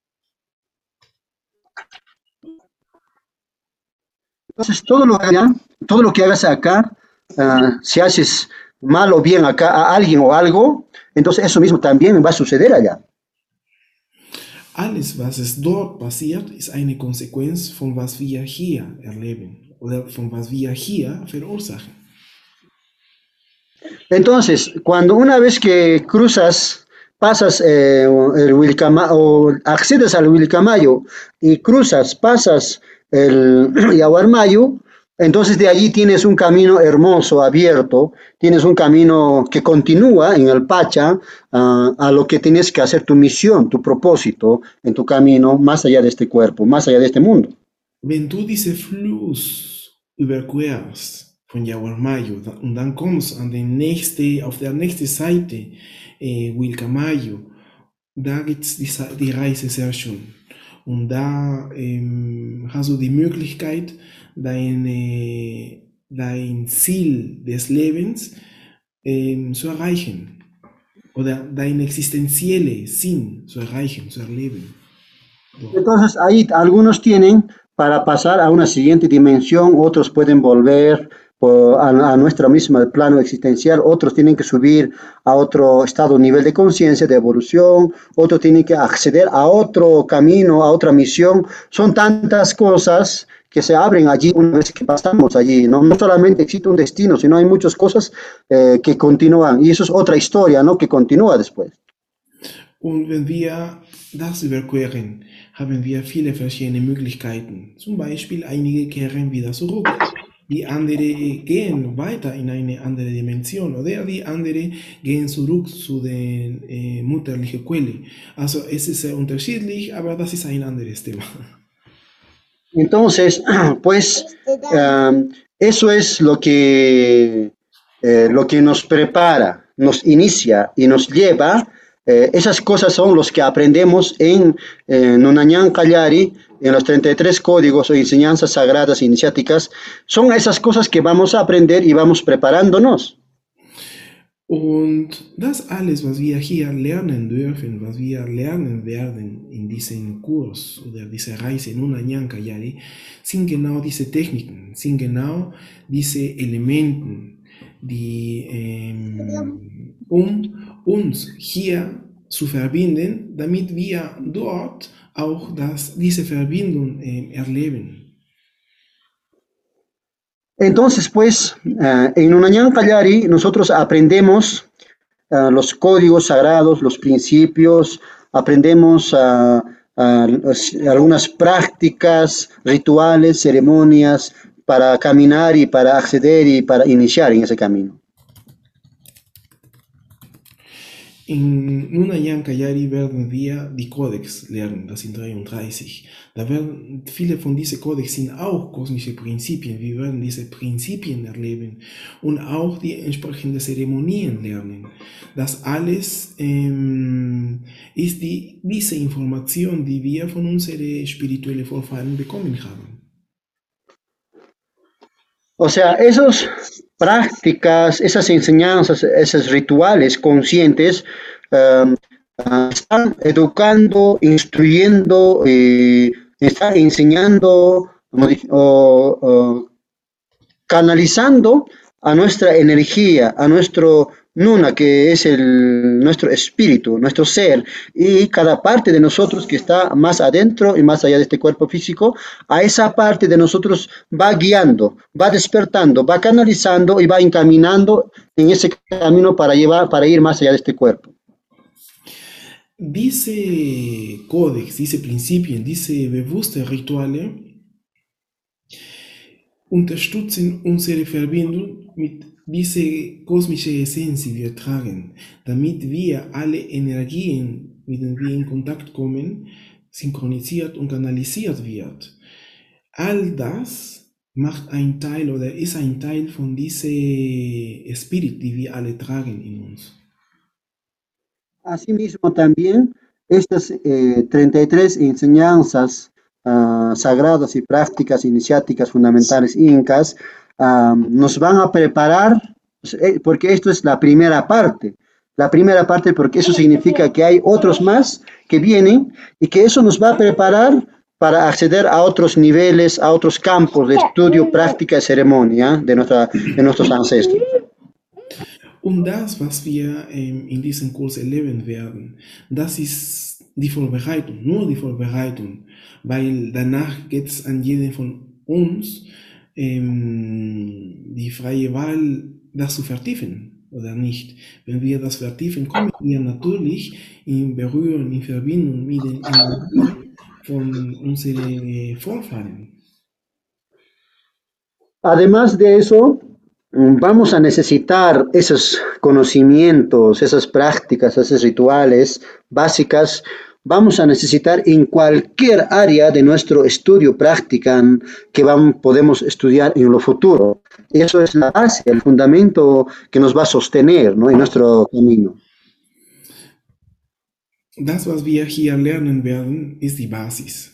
Entonces, todo lo que hagas acá, si haces mal o bien acá a alguien o algo, entonces eso mismo también va a suceder allá. Alles, was es dort passiert, ist eine Konsequenz von was wir hier erleben oder von was wir hier verursachen. Entonces, cuando una vez que pasas el o accedes al Wilcamayo y pasas el Yaguarmayo, entonces de allí tienes un camino hermoso, abierto, tienes un camino que continúa en el Pacha a lo que tienes que hacer tu misión, tu propósito en tu camino más allá de este cuerpo, más allá de este mundo. Wenn du diesen Fluss überquerst, von Yaguarmayo. Und dann kommst auf der nächsten Seite, Wilcamayo, da gibt es die Reise sehr schön. Und da hast du die Möglichkeit, dein Ziel des Lebens zu erreichen. Oder dein existenzielle Sinn zu erreichen, zu erleben. Entonces ahí algunos tienen para pasar a una siguiente dimensión, otros pueden volver a nuestro mismo plano existencial, otros tienen que subir a otro estado, nivel de conciencia, de evolución, otros tienen que acceder a otro camino, a otra misión. Son tantas cosas que se abren allí una vez que pasamos allí, ¿no? No solamente existe un destino, sino hay muchas cosas que continúan, y eso es otra historia, ¿no? Que continúa después. Und wenn wir das überqueren, haben wir viele verschiedene Möglichkeiten. Zum Beispiel einige kehren wieder zurück. Die anderen gehen weiter in eine andere Dimension oder die anderen gehen zurück zu der mutterlichen Quelle. Also es ist sehr unterschiedlich, aber das ist ein anderes Thema. Entonces, pues eso es lo que nos prepara, nos inicia y nos lleva. Esas cosas son los que aprendemos en Nunanyan Kallari, en los 33 códigos o enseñanzas sagradas iniciáticas. Son esas cosas que vamos a aprender y vamos preparándonos. Und das alles, was wir hier lernen dürfen, was wir lernen werden in diesem Kurs oder dieser Reise in Nunanyan Kallari, sind genau diese Techniken, sind genau diese Elemente, die uns hier zu verbinden, damit wir dort auch diese Verbindung erleben. Entonces, pues, en Nunanyan Kallari nosotros aprendemos los códigos sagrados, los principios, aprendemos algunas prácticas, rituales, ceremonias para caminar y para acceder y para iniciar en ese camino. In Nunanyan Kallari werden wir die Kodex lernen, das sind 33. Da werden viele von diesen Kodex sind auch kosmische Prinzipien. Wir werden diese Prinzipien erleben und auch die entsprechenden Zeremonien lernen. Das alles ist diese Information, die wir von unseren spirituellen Vorfahren bekommen haben. O sea, esas prácticas, esas enseñanzas, esos rituales conscientes están educando, instruyendo, están enseñando canalizando a nuestra energía, a nuestro Nuna, que es nuestro espíritu, nuestro ser, y cada parte de nosotros que está más adentro y más allá de este cuerpo físico, a esa parte de nosotros va guiando, va despertando, va canalizando y va encaminando en ese camino para ir más allá de este cuerpo. Diese Kodex, diese Prinzipien, diese bewussten Rituale unterstützen unsere Verbindung mit dieser kosmischen Essenz, die wir tragen, damit wir alle Energien, mit denen wir in Kontakt kommen, synchronisiert und kanalisiert wird. All das macht ein Teil oder ist ein Teil von diesem Spirit, die wir alle tragen in uns. Asimismo también estas 33 enseñanzas sagradas y prácticas iniciáticas fundamentales incas nos van a preparar, porque esto es la primera parte porque eso significa que hay otros más que vienen y que eso nos va a preparar para acceder a otros niveles, a otros campos de estudio, práctica y ceremonia de nuestros ancestros. Und das, was wir in diesem Kurs erleben werden, das ist die Vorbereitung, nur die Vorbereitung, weil danach geht es an jeden von uns die freie Wahl, das zu vertiefen oder nicht. Wenn wir das vertiefen, kommen wir natürlich in Berührung, in Verbindung mit den Energien von unseren Vorfahren. Además de eso, vamos a necesitar esos conocimientos, esas prácticas, esos rituales básicas, vamos a necesitar en cualquier área de nuestro estudio, práctica que podemos estudiar en lo futuro. Eso es la base, el fundamento que nos va a sostener, ¿no?, en nuestro camino. Das, was wir hier lernen werden, ist die Basis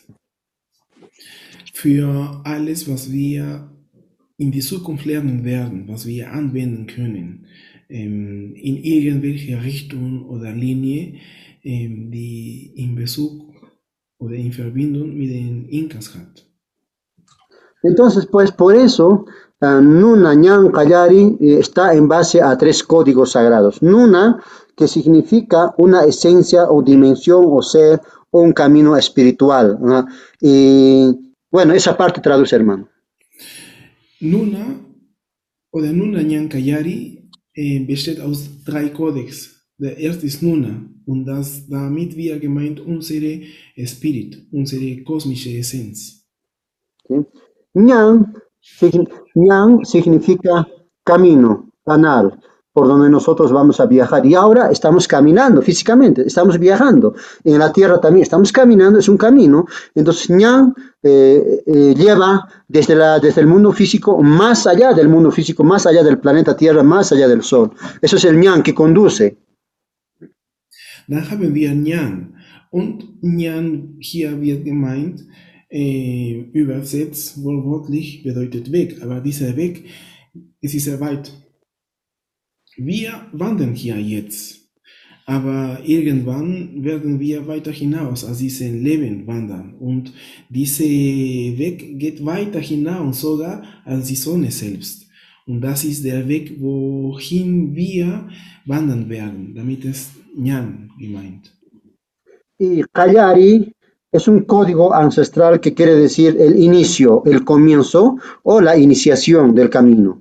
für alles, was wir in die Zukunft lernen werden, was wir anwenden können, in irgendwelche Richtung oder Linie, die in Bezug oder in Verbindung mit den Inkas hat. Entonces, pues por eso, Nuna Ñan Callari está en base a 3 códigos sagrados. Nuna, que significa una esencia o dimensión o ser o un camino espiritual, ¿no? Y bueno, esa parte traduce, hermano. Nuna oder Nuna Nyan Kayari besteht aus 3 Codex. Der erste ist Nuna und das damit wir gemeint unsere Spirit, unsere kosmische Essenz. ¿Sí? Ñan, Ñan significa camino, canal, por donde nosotros vamos a viajar. Y ahora estamos caminando físicamente, estamos viajando. En la tierra también estamos caminando, es un camino. Entonces, Ñan lleva desde el mundo físico, más allá del mundo físico, más allá del planeta Tierra, más allá del Sol. Eso es el Ñan que conduce. Dann haben wir Nyan. Und Nyan hier wird gemeint, übersetzt wortwörtlich bedeutet Weg. Aber dieser Weg ist sehr weit. Wir wandern hier jetzt. Aber irgendwann werden wir weiter hinaus aus diesem Leben wandern. Und dieser Weg geht weiter hinaus sogar als die Sonne selbst. Und das ist der Weg, wohin wir wandern werden. Damit ist Ñan gemeint. Y Callari es un código ancestral que quiere decir el inicio, el comienzo o la iniciación del camino.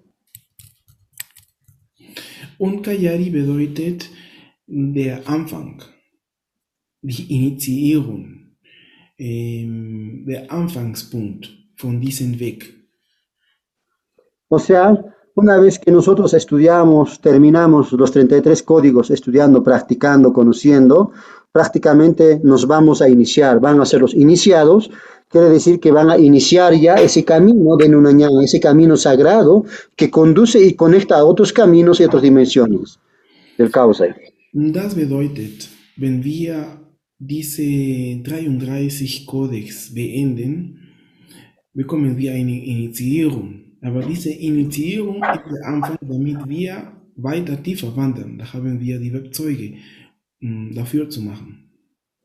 Und Kayari bedeutet der Anfang, die Initiierung, der Anfangspunkt von diesem Weg. O sea, una vez que nosotros estudiamos, terminamos los 33 códigos estudiando, practicando, conociendo, prácticamente nos vamos a iniciar, van a ser los iniciados, quiere decir que van a iniciar ya ese camino de Nunañán, ese camino sagrado que conduce y conecta a otros caminos y otras dimensiones del Kausai. Das bedeutet, wenn wir diese 33 Codex beenden, bekommen wir eine Initiierung. Aber diese Initiierung ist der Anfang, damit wir weiter tiefer wandern. Da haben wir die Werkzeuge, dafür zu machen.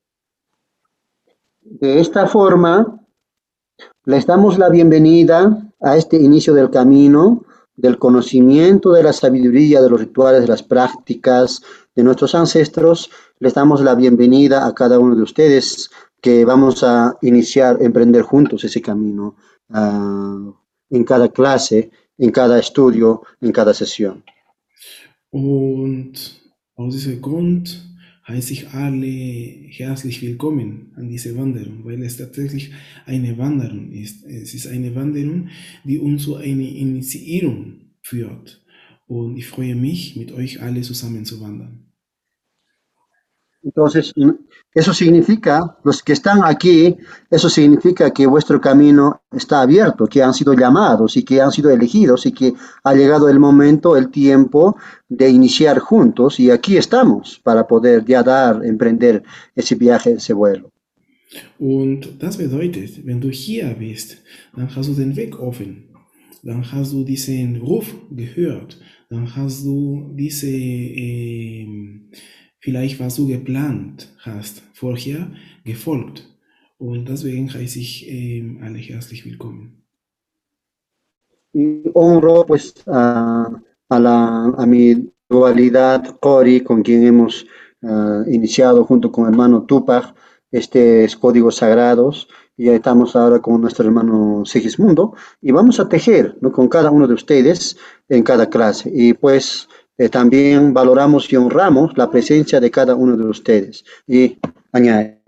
De esta forma, les damos la bienvenida a este inicio del camino, del conocimiento de la sabiduría, de los rituales, de las prácticas de nuestros ancestros. Les damos la bienvenida a cada uno de ustedes que vamos a iniciar, emprender juntos ese camino en cada clase, en cada estudio, en cada sesión. Und aus diesem Grund heiße ich alle herzlich willkommen an diese Wanderung, weil es tatsächlich eine Wanderung ist. Es ist eine Wanderung, die uns zu einer Initiierung führt. Und ich freue mich, mit euch alle zusammen zu wandern. Entonces, eso significa, los que están aquí, eso significa que vuestro camino está abierto, que han sido llamados y que han sido elegidos y que ha llegado el momento, el tiempo de iniciar juntos y aquí estamos para poder ya emprender ese viaje, ese vuelo. Und das bedeutet, wenn du hier bist, dann hast du den Weg offen, dann hast du diesen Ruf gehört, dann hast du diese vielleicht was du geplant hast, vorher gefolgt. Und deswegen heiße ich alle herzlich willkommen. Y honro pues a mi dualidad Cori, con quien hemos iniciado junto con el hermano Tupac estos códigos sagrados. Y ya estamos ahora con nuestro hermano Sigismundo y vamos a tejer, ¿no?, con cada uno de ustedes en cada clase. Y pues también valoramos y honramos la presencia de cada uno de ustedes. Y añade.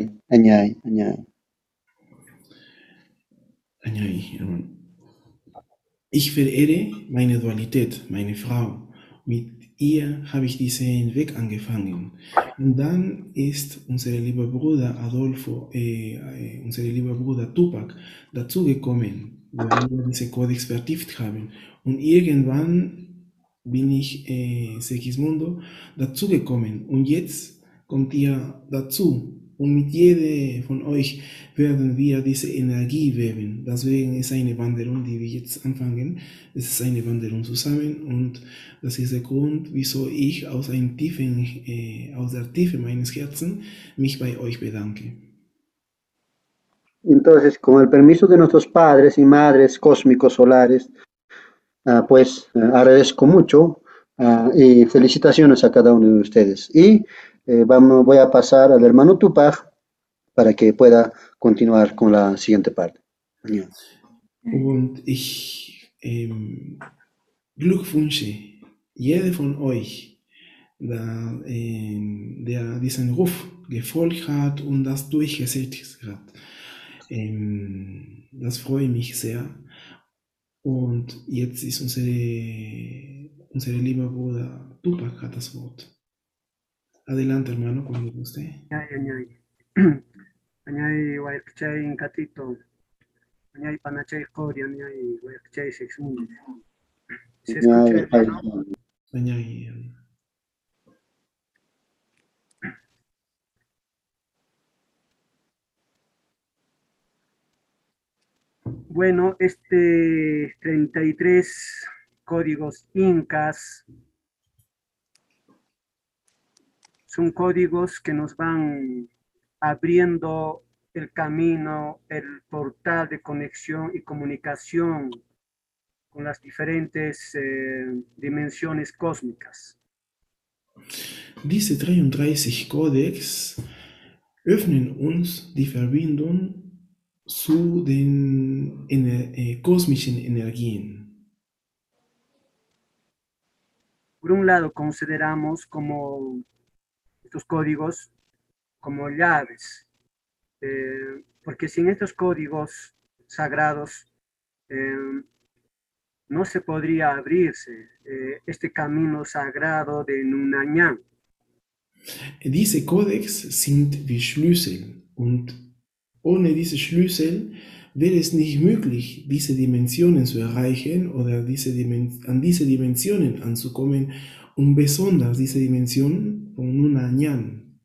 Ich verehre meine Dualität, meine Frau. Mit Hier habe ich diesen Weg angefangen. Und dann ist unser lieber Bruder Adolfo, unser lieber Bruder Tupac dazugekommen, weil wir diesen Kodex vertieft haben. Und irgendwann bin ich, Segismundo, dazugekommen. Und jetzt kommt ihr dazu. Und mit jedem von euch werden wir diese Energie weben. Deswegen ist eine Wanderung, die wir jetzt anfangen. Es ist eine Wanderung zusammen und das ist der Grund, wieso ich aus der Tiefe meines Herzens mich bei euch bedanke. Entonces, con el permiso de nuestros padres y madres cósmicos solares, pues agradezco mucho y felicitaciones a cada uno de ustedes. Y voy a pasar al hermano Tupac para que pueda continuar con la siguiente parte. Und ich glückwünsche jeder von euch, der diesen Ruf gefolgt hat und das durchgesetzt hat. Das freut mich sehr. Und jetzt ist unser lieber Bruder Tupac hat das Wort. Adelante, hermano, cuando guste. Añay Guayachay Incatito, Añay Panachay Coria, Añay Guayachay Sexmundo. ¿Se escucha, hermano? Añay. Bueno, 33 códigos incas son códigos que nos van abriendo el camino, el portal de conexión y comunicación con las diferentes dimensiones cósmicas. Diese 33 Codex öffnen uns die Verbindung zu den kosmischen Energien. Por un lado, consideramos como estos códigos como llaves, porque sin estos códigos sagrados no se podría abrirse este camino sagrado de Nunayán. Diese Codex sind wie Schlüssel und ohne diese Schlüssel wäre es nicht möglich, diese Dimensionen zu erreichen oder an diese Dimensionen anzukommen und besonders diese Dimension von Nunayán.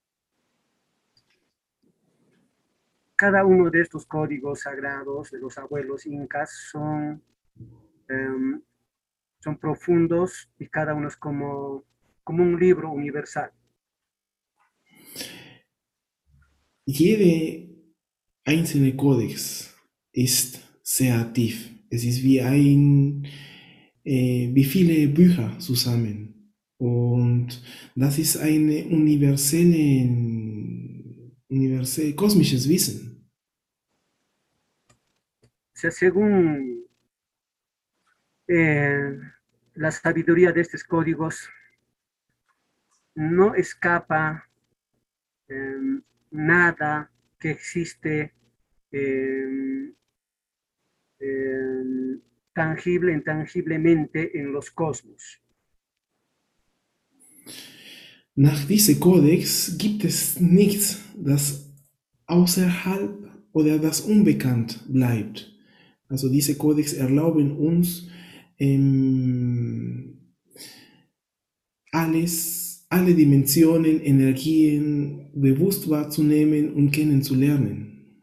Cada uno de estos códigos sagrados de los abuelos incas son profundos y cada uno es como un libro universal. Jede einzelne Kodex ist sehr tief. Es ist wie viele Bücher zusammen. Und das ist ein universell kosmisches Wissen. O sea, según la sabiduría de estos códigos, no escapa nada que existe tangible, intangiblemente en los cosmos. Nach diesem Kodex gibt es nichts, das außerhalb oder das unbekannt bleibt. Also diese Kodex erlauben uns, alle Dimensionen, Energien bewusst wahrzunehmen und kennenzulernen.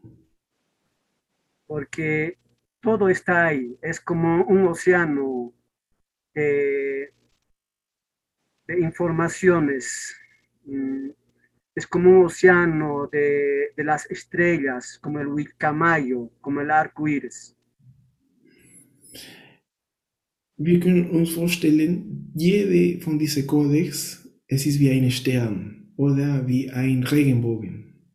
Porque todo está ahí, es como un océano de informaciones, es como un océano de las estrellas, como el Huilcamayo, como el arco iris. Wir können uns vorstellen, jede von diesen Kodex, es ist wie ein Stern oder wie ein Regenbogen.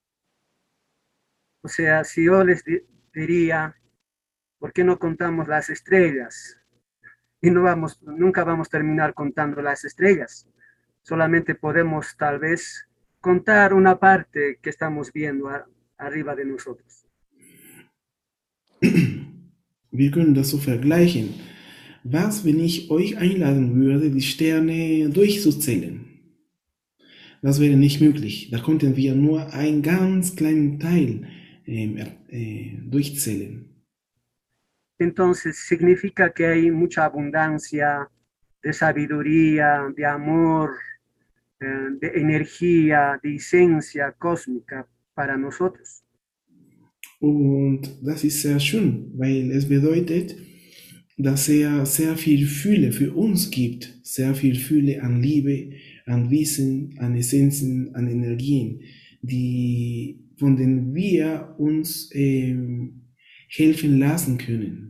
O sea, si yo les diría, ¿por qué no contamos las estrellas? Y nunca vamos a terminar contando las estrellas. Solamente podemos tal vez contar una parte que estamos viendo arriba de nosotros. Wir können das so vergleichen. Was, wenn ich euch einladen würde, die Sterne durchzuzählen? Das wäre nicht möglich. Da konnten wir nur einen ganz kleinen Teil durchzählen. Entonces significa que hay mucha abundancia de sabiduría, de amor, de energía, de esencia cósmica para nosotros. Und das ist sehr schön, weil es bedeutet, dass er sehr viel Fülle für uns gibt, sehr viel Fülle an Liebe, an Wissen, an Essenzen, an Energien, von denen wir uns helfen lassen können.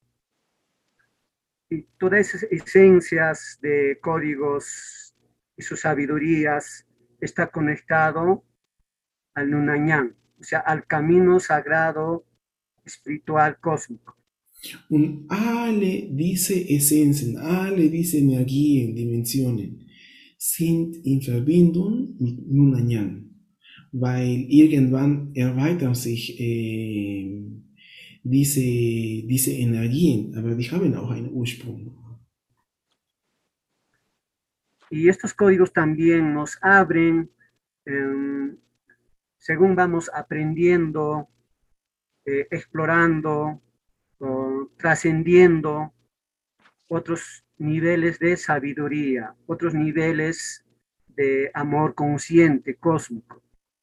Y todas esas esencias de códigos y sus sabidurías está conectado al Nunanyang, o sea, al camino sagrado espiritual cósmico. Und alle diese Essenzen, alle diese Energien, Dimensionen sind in Verbindung mit Nunanyang, weil irgendwann erweitern sich diese Energien, aber die haben auch einen Ursprung. Y estos códigos también nos abren, según vamos aprendiendo, explorando, trascendiendo otros niveles de sabiduría, otros niveles de amor consciente, cósmico.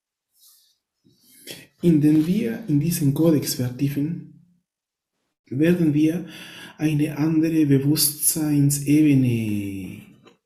Indem wir in diesen Kodex vertiefen, werden wir eine andere Bewusstseinsebene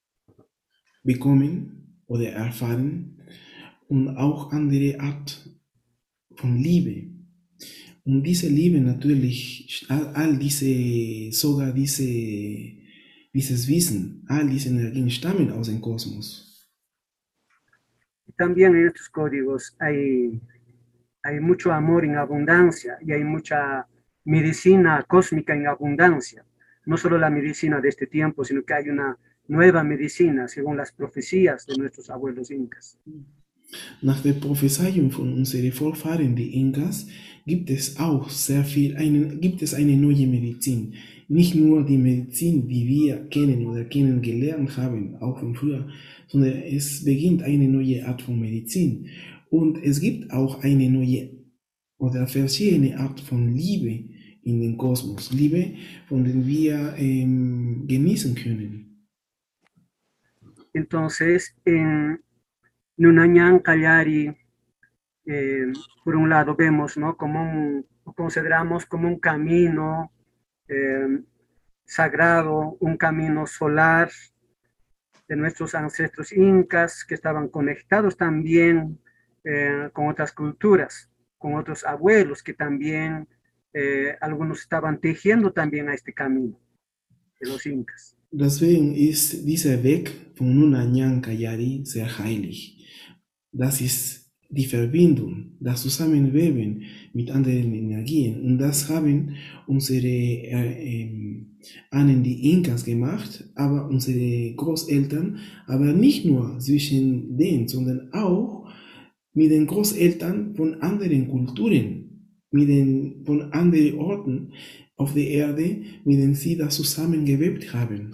bekommen oder erfahren und auch andere Art von Liebe. Und diese Liebe natürlich, sogar dieses Wissen, all diese Energien stammen aus dem Kosmos. También en estos códigos hay mucho amor en abundancia y hay mucha medicina cósmica en abundancia. No solo la medicina de este tiempo, sino que hay una nueva medicina según las profecías de nuestros abuelos incas. Nach der Prophezeiung von unseren Vorfahren, die Inkas, gibt es eine neue Medizin. Nicht nur die Medizin, die wir kennen oder kennengelernt haben, auch von früher, sondern es beginnt eine neue Art von Medizin. Und es gibt auch eine neue oder verschiedene Art von Liebe in den Kosmos. Liebe, von der wir genießen können. Entonces, en Nunanyang Kallari, por un lado vemos, ¿no? Consideramos como un camino sagrado, un camino solar de nuestros ancestros incas que estaban conectados también con otras culturas, con otros abuelos que también algunos estaban tejiendo también a este camino de los incas. Deswegen ist dieser Weg von Nunanyang Kallari sehr heilig. Das ist die Verbindung, das Zusammenweben mit anderen Energien. Und das haben unsere Ahnen, die Inkas, gemacht, aber unsere Großeltern, aber nicht nur zwischen denen, sondern auch mit den Großeltern von anderen Kulturen, von anderen Orten auf der Erde, mit denen sie das zusammengewebt haben.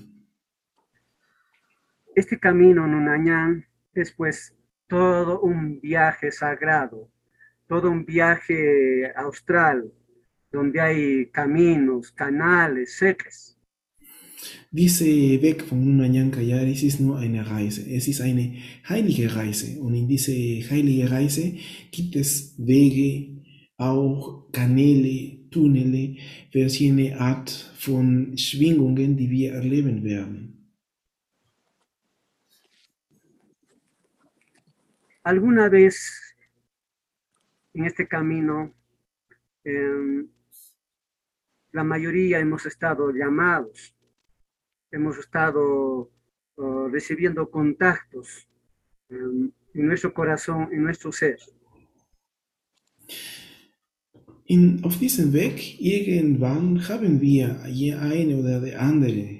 Este camino Nunanyang es pues todo un viaje sagrado, todo un viaje austral, donde hay caminos, canales, secas. Dieser Weg von Nunanyang Kallari ist nur eine Reise. Es ist eine heilige Reise. Und in dieser heiligen Reise gibt es Wege, auch Kanäle, Tunnel, verschiedene Art von Schwingungen, die wir erleben werden. Alguna vez en este camino, la mayoría hemos estado llamados, hemos estado recibiendo contactos en nuestro corazón, en nuestro ser. Auf diesem Weg, irgendwann haben wir eine oder die andere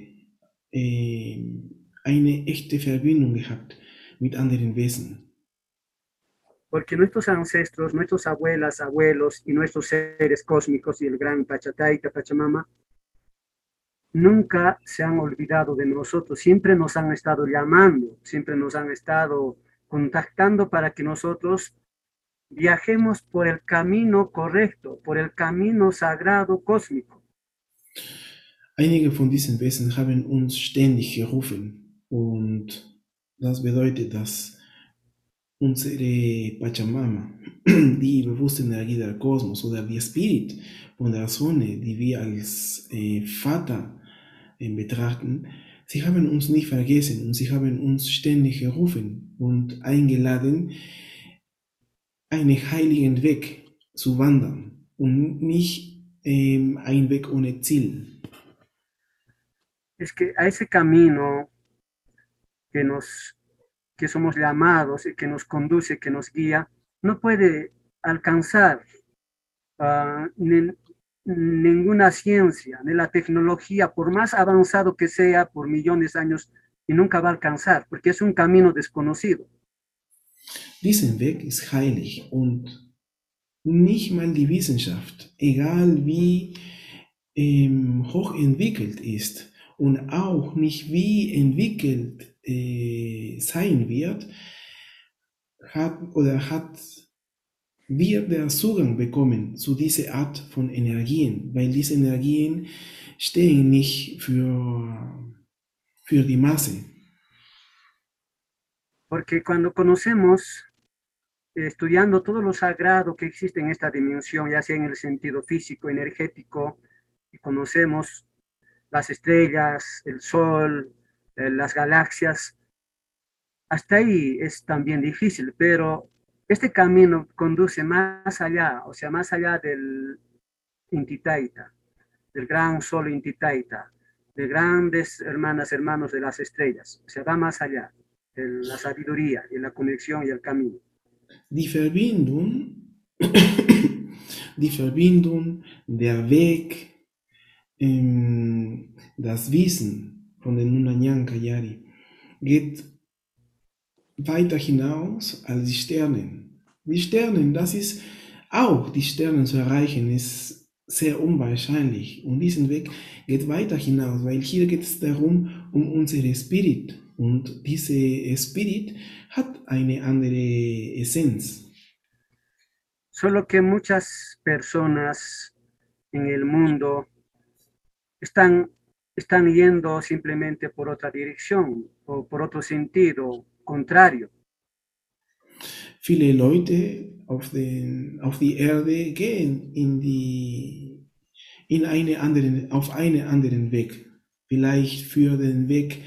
eine echte Verbindung gehabt mit anderen Wesen. Porque nuestros ancestros, nuestros abuelas, abuelos y nuestros seres cósmicos y el gran Pachataita, Pachamama, nunca se han olvidado de nosotros, siempre nos han estado llamando, siempre nos han estado contactando para que nosotros viajemos por el camino correcto, por el camino sagrado cósmico. Einige von diesen Wesen haben uns ständig gerufen und das bedeutet, dass unsere Pachamama, die bewusste Energie del Kosmos oder die Spirit von der Sonne, die wir als Vater betrachten, sie haben uns nicht vergessen und sie haben uns ständig gerufen und eingeladen, einen heiligen Weg zu wandern und nicht ein Weg ohne Ziel. Es que a ese camino que somos llamados y que nos conduce, que nos guía, no puede alcanzar ninguna ciencia, ni la tecnología, por más avanzado que sea, por millones de años, y nunca va a alcanzar, porque es un camino desconocido. Diesen Weg ist heilig und nicht mal die Wissenschaft, egal wie hochentwickelt ist und auch nicht wie entwickelt sein wird, wird der Zugang bekommen zu dieser Art von Energien, weil diese Energien stehen nicht für die Masse. Porque cuando conocemos, estudiando todo lo sagrado que existe en esta dimensión, ya sea en el sentido físico, energético, y conocemos las estrellas, el sol, las galaxias, hasta ahí es también difícil, pero este camino conduce más allá, o sea, más allá del Inti Taita, del gran sol Inti Taita, de grandes hermanos de las estrellas, o sea, va más allá de la sabiduría y la conexión y el camino. Die Verbindung, der Weg, das Wissen von den Nunanyan Kayari geht weiter hinaus als die Sternen. Die Sternen, die Sternen zu erreichen, ist sehr unwahrscheinlich. Und diesen Weg geht weiter hinaus, weil hier geht es darum, um unsere Spirit. Und diese Spirit hat eine andere Essenz. Solo que muchas personas en el mundo están yendo simplemente por otra dirección o por otro sentido contrario. Viele Leute auf die Erde gehen auf einen anderen Weg. Vielleicht für den Weg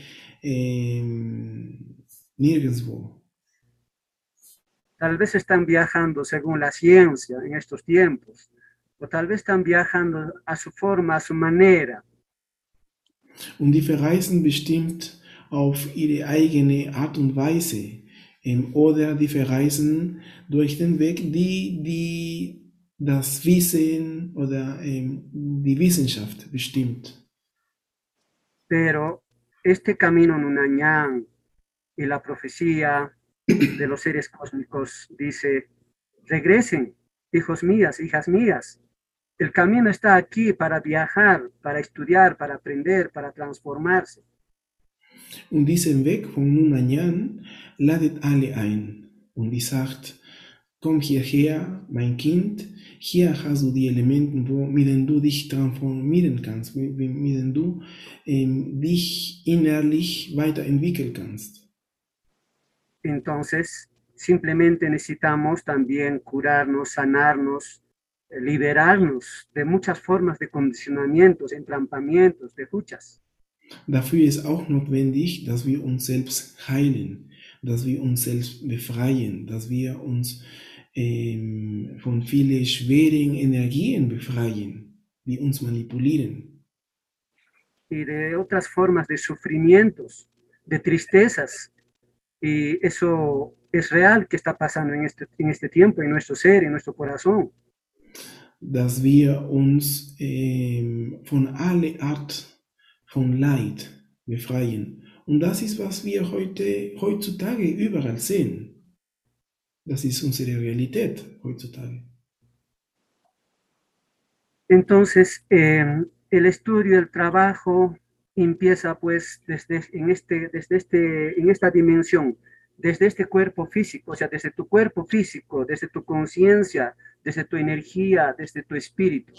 nirgendwo. Tal vez están viajando según la ciencia en estos tiempos, o tal vez están viajando a su forma, a su manera. Und die verreisen bestimmt auf ihre eigene Art und Weise, oder die verreisen durch den Weg, die das Wissen oder die Wissenschaft bestimmt. Pero este camino Nunanyan y la profecía de los seres cósmicos dice, regresen, hijos mías, hijas mías. El camino está aquí para viajar, para estudiar, para aprender, para transformarse. Und diesen Weg von Nunanyan ladet alle ein. Und die sagt, komm hierher, mein Kind, hier hast du die Elemente, mit denen du dich transformieren kannst, mit denen du dich innerlich weiterentwickeln kannst. Entonces, simplemente necesitamos también curarnos, sanarnos, liberarnos de muchas formas de condicionamientos, entrampamientos, de luchas. Dafür ist auch notwendig, dass wir uns selbst heilen, dass wir uns selbst befreien, dass wir uns von vielen schweren Energien befreien, die uns manipulieren. Y de otras formas de sufrimientos, de tristezas. Y eso es real que está pasando en este tiempo, en nuestro ser, en nuestro corazón. Dass wir uns von aller Art von Leid befreien. Und das ist, was wir heutzutage überall sehen. Das ist unsere Realität heutzutage. Entonces, el estudio, el trabajo empieza pues en esta dimensión, desde este cuerpo físico, o sea, desde tu cuerpo físico, desde tu conciencia, desde tu energía, desde tu espíritu.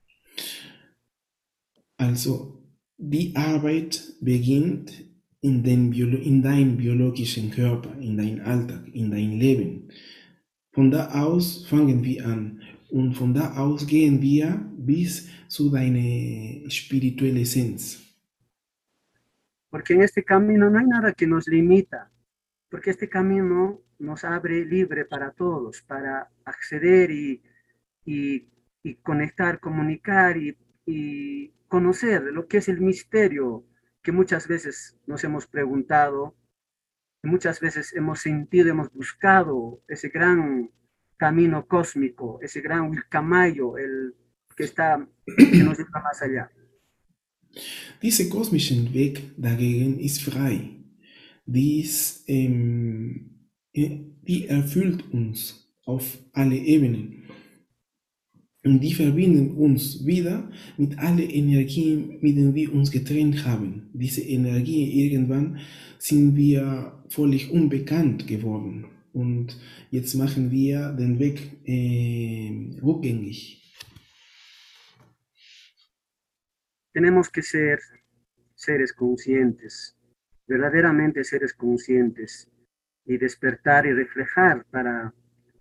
Also, die Arbeit beginnt in deinem biologischen Körper, in deinem Alltag, in dein Leben. Von da aus fangen wir an und von da aus gehen wir bis zu deiner spirituellen Essenz. Porque en este camino no hay nada que nos limita, porque este camino nos abre libre para todos, para acceder y conectar, comunicar y conocer lo que es el misterio que muchas veces nos hemos preguntado, que muchas veces hemos sentido, hemos buscado ese gran camino cósmico, ese gran Wilcamayo, el que nos lleva más allá. Dieser kosmische Weg dagegen ist frei. Die erfüllt uns auf alle Ebenen. Und die verbinden uns wieder mit allen Energien, mit denen wir uns getrennt haben. Diese Energien, irgendwann sind wir völlig unbekannt geworden. Und jetzt machen wir den Weg rückgängig. Tenemos que ser seres conscientes, verdaderamente seres conscientes, y despertar y reflejar para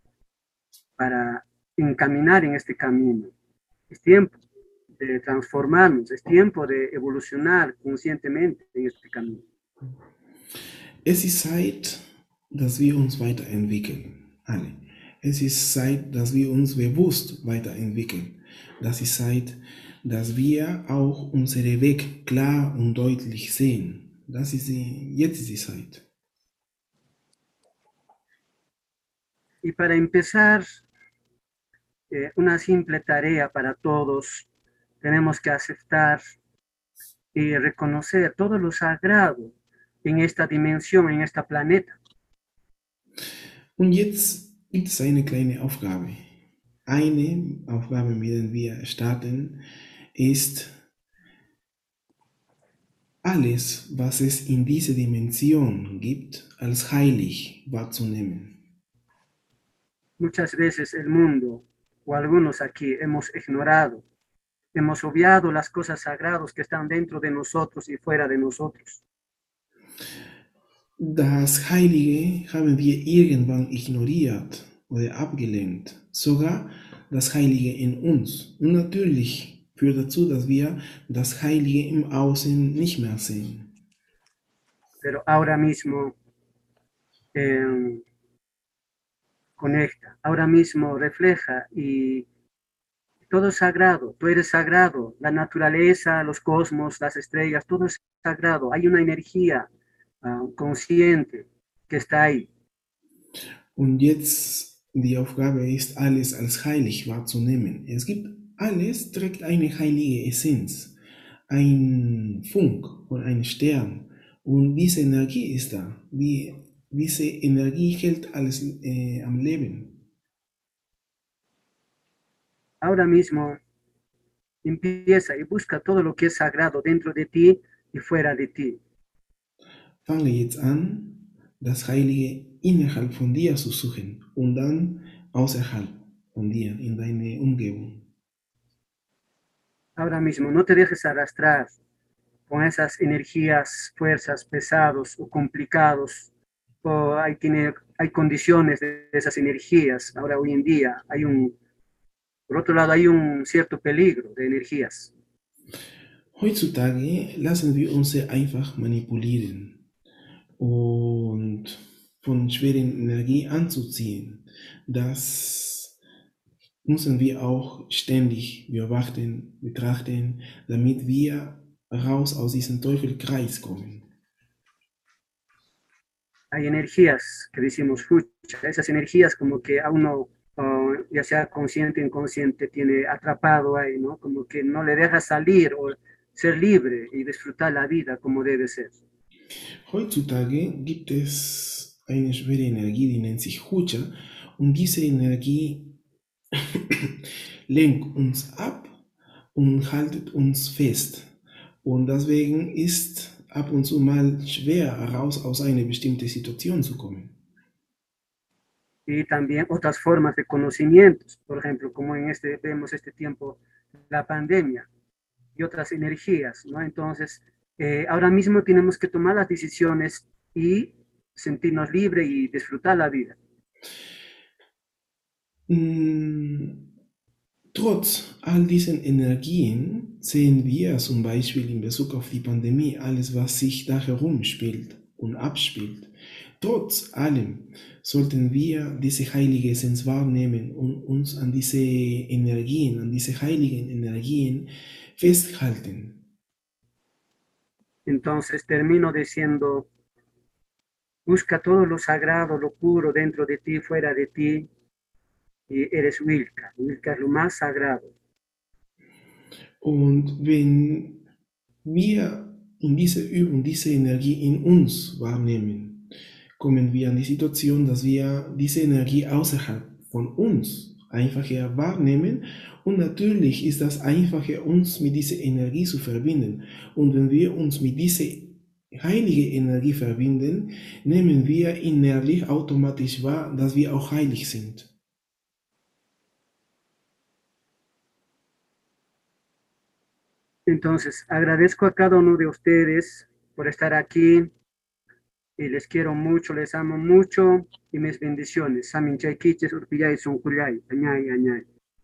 encaminar en este camino. Es tiempo de transformarnos, es tiempo de evolucionar conscientemente en este camino. Es ist Zeit, dass wir uns weiterentwickeln, alle. Es ist Zeit, dass wir uns bewusst weiterentwickeln. Das ist Zeit, dass wir auch unseren Weg klar und deutlich sehen. Jetzt ist die Zeit. Y para empezar, una simple tarea para todos, tenemos que aceptar y reconocer todo lo sagrado en esta dimensión, en este planeta. Und jetzt gibt es eine kleine Aufgabe. Eine Aufgabe, mit der wir starten, ist, alles, was es in dieser Dimension gibt, als heilig wahrzunehmen. Muchas veces el mundo, o algunos aquí, hemos ignorado, hemos obviado las cosas sagradas que están dentro de nosotros y fuera de nosotros. Das Heilige haben wir irgendwann ignoriert oder abgelehnt, sogar das Heilige in uns. Und natürlich führt dazu, dass wir das Heilige im Außen nicht mehr sehen. Pero ahora mismo conecta, ahora mismo refleja y todo es sagrado, tú eres sagrado, la naturaleza, los cosmos, las estrellas, todo es sagrado, hay una energía consciente que está ahí. Und jetzt die Aufgabe ist, alles als heilig wahrzunehmen. Es gibt alles, trägt eine heilige Essenz, ein Funk und ein Stern. Und diese Energie ist da. Diese Energie hält alles am Leben. Ahora mismo empieza y busca todo lo que es sagrado dentro de ti y fuera de ti. Fange jetzt an, das Heilige innerhalb von dir zu suchen und dann außerhalb von dir, in deine Umgebung. Ahora mismo no te dejes arrastrar con esas energías, fuerzas, pesados o complicados, o hay condiciones de esas energías. Ahora hoy en día por otro lado hay un cierto peligro de energías. Heutzutage lassen wir uns sehr einfach manipulieren und von schweren Energie anzuziehen. Das müssen wir auch ständig betrachten, damit wir raus aus diesem Teufelskreis kommen. Hay energías que decimos, fucha, esas energías como que a uno, ya sea consciente o inconsciente, tiene atrapado ahí, ¿no? Como que no le deja salir o ser libre y disfrutar la vida como debe ser. Heutzutage gibt es eine schwere Energie, die nennt sich Hucha, und diese Energie lenkt uns ab und haltet uns fest. Und deswegen ist ab und zu mal schwer, heraus aus einer bestimmten Situation zu kommen. Y también otras formas de conocimientos, por ejemplo, como en vemos este tiempo, la pandemia y otras energías, ¿no? Entonces, ahora mismo tenemos que tomar las decisiones y sentirnos libres y disfrutar la vida. Trotz all diesen Energien sehen wir zum Beispiel in Bezug auf die Pandemie alles, was sich da herum spielt und abspielt. Trotz allem sollten wir diese heilige Essenz wahrnehmen und uns an diese Energien, an diese heiligen Energien festhalten. Entonces termino diciendo, busca todo lo sagrado, lo puro dentro de ti, fuera de ti, y eres Wilka. Wilka es lo más sagrado. Und wenn wir in dieser Übung diese Energie in uns wahrnehmen, kommen wir an die Situation, dass wir diese Energie außerhalb von uns einfacher wahrnehmen, und natürlich ist das einfacher, uns mit dieser Energie zu verbinden. Und wenn wir uns mit dieser heiligen Energie verbinden, nehmen wir innerlich automatisch wahr, dass wir auch heilig sind. Entonces, agradezco a cada uno de ustedes por estar aquí y les quiero mucho, les amo mucho y mis bendiciones. Samin Chaikiches, Urpillay, Sunkuryay, Añay, Añay.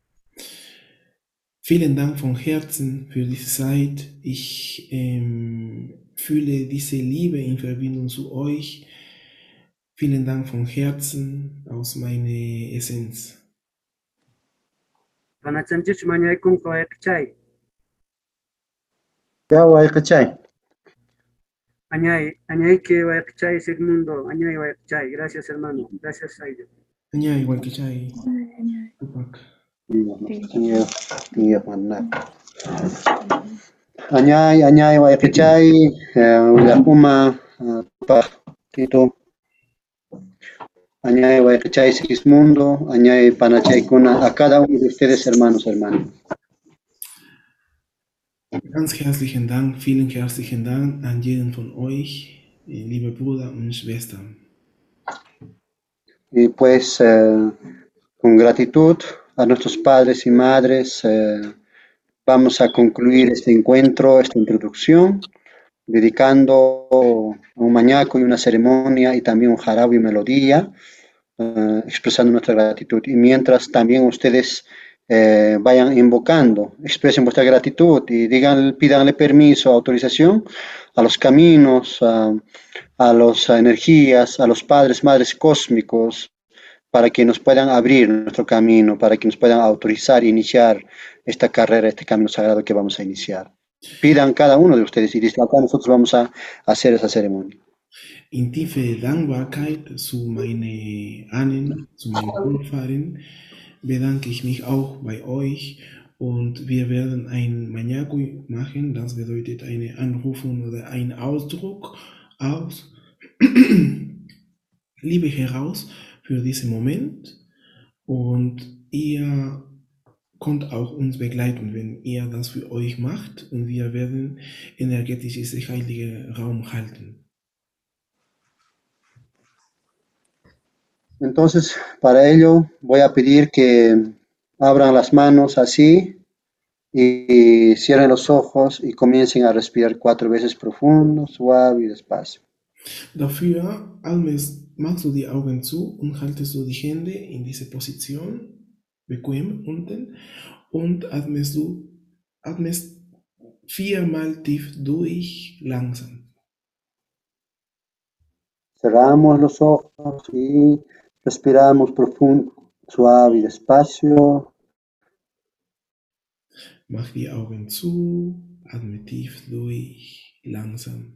Vielen Dank von Herzen für diese Zeit. Ich fühle diese Liebe in Verbindung zu euch. Vielen Dank von Herzen aus meiner Essenz. Vanachamchich Mañay Kun Koekchay. Ya, Waikachay. Añay, Añay que Waekchay Sigmundo, Añay Waekchay. Gracias, hermano. Gracias, Aida. Anya, igual que Chai. Tupac. Iya, mana. Anyay, Waikachay, Ulakuma, Tito. Añay, Waikachay, Sigismundo, Añay, Panachay, Kuna, a cada uno de ustedes, hermanos. Ganz herzlichen Dank, vielen herzlichen Dank an jeden von euch, liebe Brüder und Schwestern. Y pues, con gratitud a nuestros padres y madres, vamos a concluir este encuentro, esta introducción, dedicando un mañaco y una ceremonia y también un jarabe y melodía, expresando nuestra gratitud. Y mientras también ustedes vayan invocando, expresen vuestra gratitud y pídanle permiso, autorización a los caminos, a las energías, a los padres, madres cósmicos, para que nos puedan abrir nuestro camino, para que nos puedan autorizar e iniciar esta carrera, este camino sagrado que vamos a iniciar. Pidan cada uno de ustedes y desde acá nosotros vamos a hacer esa ceremonia. In tiefe Dankbarkeit zu meinen Ahnen, zu meinen Vorfahren, bedanke ich mich auch bei euch, und wir werden ein Manyaku machen, das bedeutet eine Anrufung oder ein Ausdruck aus Liebe heraus für diesen Moment, und ihr könnt auch uns begleiten, wenn ihr das für euch macht, und wir werden energetisch diesen heiligen Raum halten. Entonces, para ello voy a pedir que abran las manos así y cierren los ojos y comiencen a respirar 4 veces profundo, suave y despacio. Dafür machst du die Augen zu und haltest du die Hände in diese Position, bequem unten, und atmest 4-mal tief durch, langsam. Cerramos los ojos y respiramos profundo, suave y despacio. Mach die Augen zu, atme tief durch, langsam.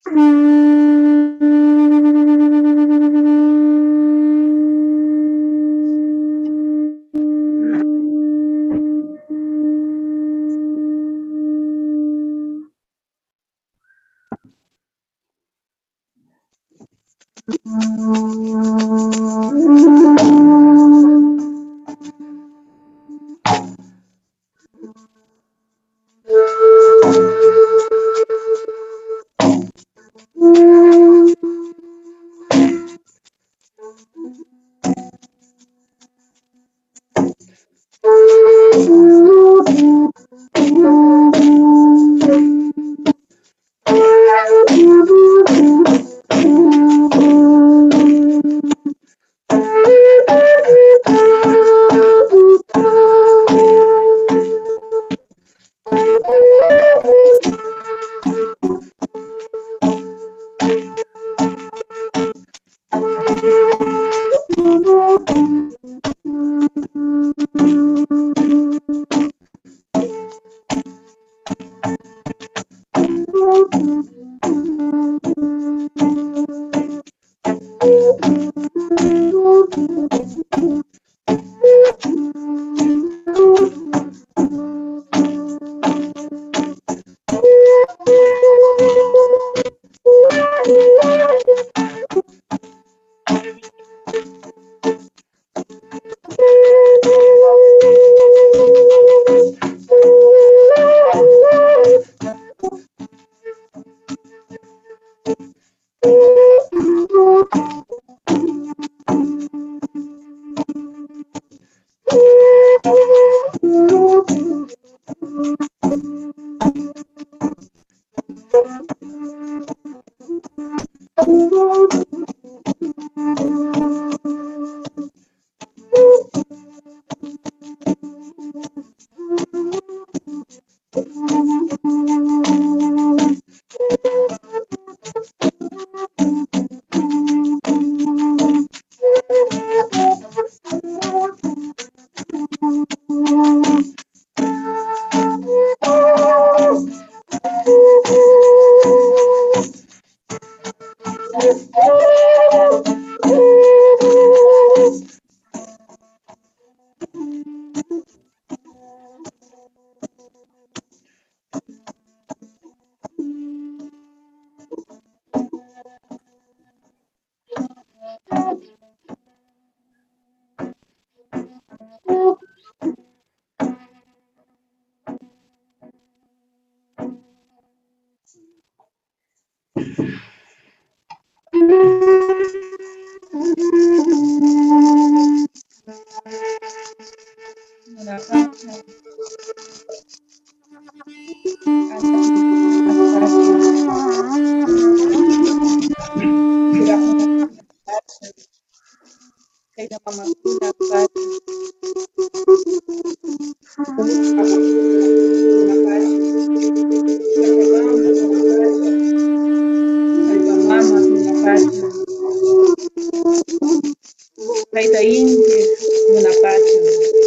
Kaita Inti, Munapacha,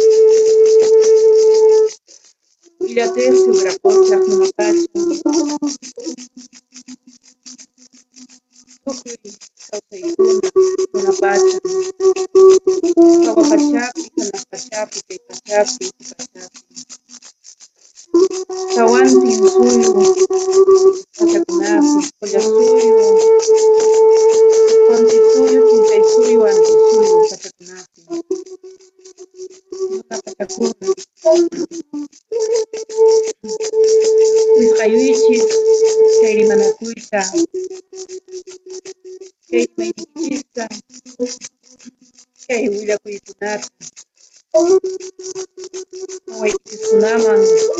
Ila Tercio, Grapocha, Munapacha, Tukui, Sausaikuna, Munapacha, Kawapachapi, Kanapachapi, Kaipachapi, Kipachapi, Tawanti, Suyo, Pachakunapi, Collasuyo, Contisuyo, Quintaisuyo, Antisuyo, Pachakunapi, Pachacuna, Huizcayuichis, Chayrimanacuita, Chayrimaichista, Chayhuillacuykunata, Mawaychiskunaman,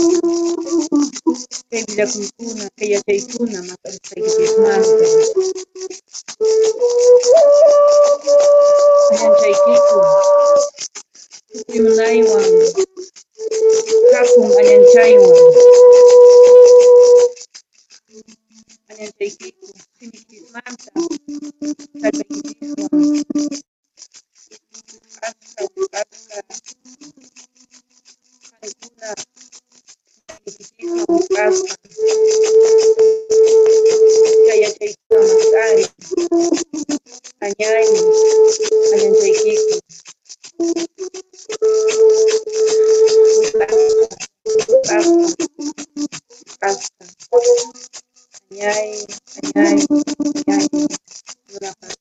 Chayhuillacuykuna, Chayachaykuna, Maqarisqaykipismanta, Allanchaykiku, Tukuyunaywan, Hakun allanchaywan, Allanchaykiku, Simipismanta, Sallpaykipiswan, Asqa, Qhaykuna, Simipiswan, Asqa, Chayachaykiku, Hasta. Añay, añay, añay. Nuna pacha.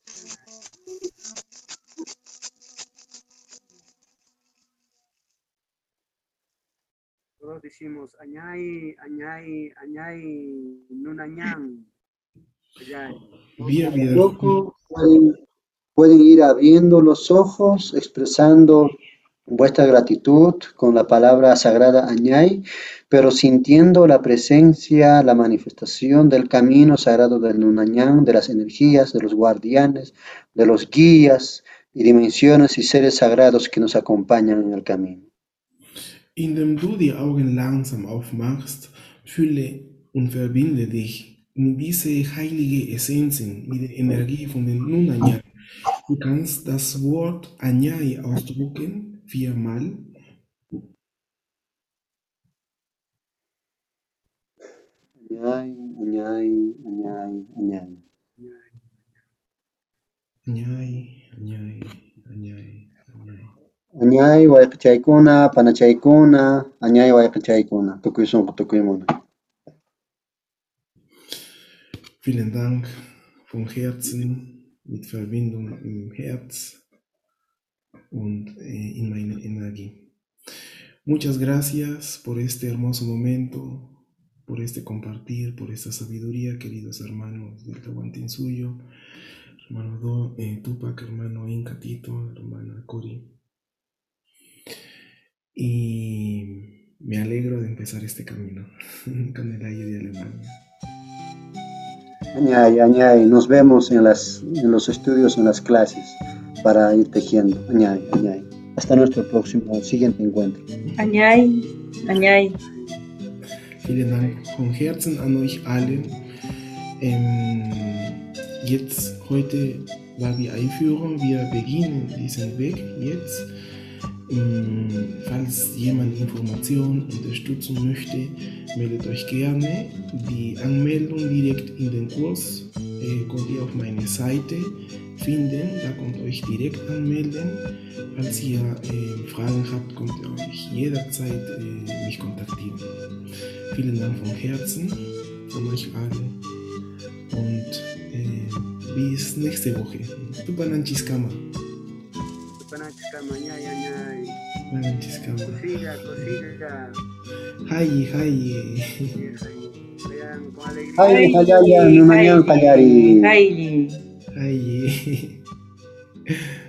Todos decimos añay, añay, añay, nunañán. Añay. Wir wiederholen. Poco pueden ir abriendo los ojos, expresando vuestra gratitud con la palabra sagrada Añay, pero sintiendo la presencia, la manifestación del camino sagrado del Nunañán, de las energías, de los guardianes, de los guías y dimensiones y seres sagrados que nos acompañan en el camino. Indem du die Augen langsam aufmachst, fühle und verbinde dich mit diese heilige Essenzen, mit der Energie von den Nunanyan. Du kannst das Wort Anyai ausdrucken, 4-mal. Añay, Añay, Añay, Añay. Anyai, Anyai, Anyai, Anyai. Añay, Wayqichaykuna, Panachaykuna, Añay, Wayqichaykuna, Tukuysunqa, Tukuymuna. Vielen Dank von Herzen, mit Verbindung im Herz und in meine Energie. Muchas gracias por este hermoso momento, por este compartir, por esta sabiduría, queridos hermanos del Tahuantinsuyo, hermano Tupac, hermano Inca Tito, hermana Cori. Y me alegro de empezar este camino con el aire de Alemania. Añay, Añay, nos vemos en los estudios, en las clases, para ir tejiendo. Añay, Añay. Hasta nuestro siguiente encuentro. Añay, añay. Vielen Dank von Herzen an euch allen. Jetzt heute war die Einführung. Wir beginnen diesen Weg jetzt. Falls jemand Informationen, Unterstützung möchte, meldet euch gerne. Die Anmeldung direkt in den Kurs könnt ihr auf meine Seite finden. Da könnt ihr euch direkt anmelden. Falls ihr Fragen habt, könnt ihr euch jederzeit mich kontaktieren. Vielen Dank von Herzen von euch allen und bis nächste Woche. Tupananchiskama. Tupananchiskama, añay, añay. Tupananchiskama. Cosilla, cosilla. Hayi, hayi. Vean, con alegría. Hayi, Hayaya, Nunañán, Kallari. Hayi. Hayi.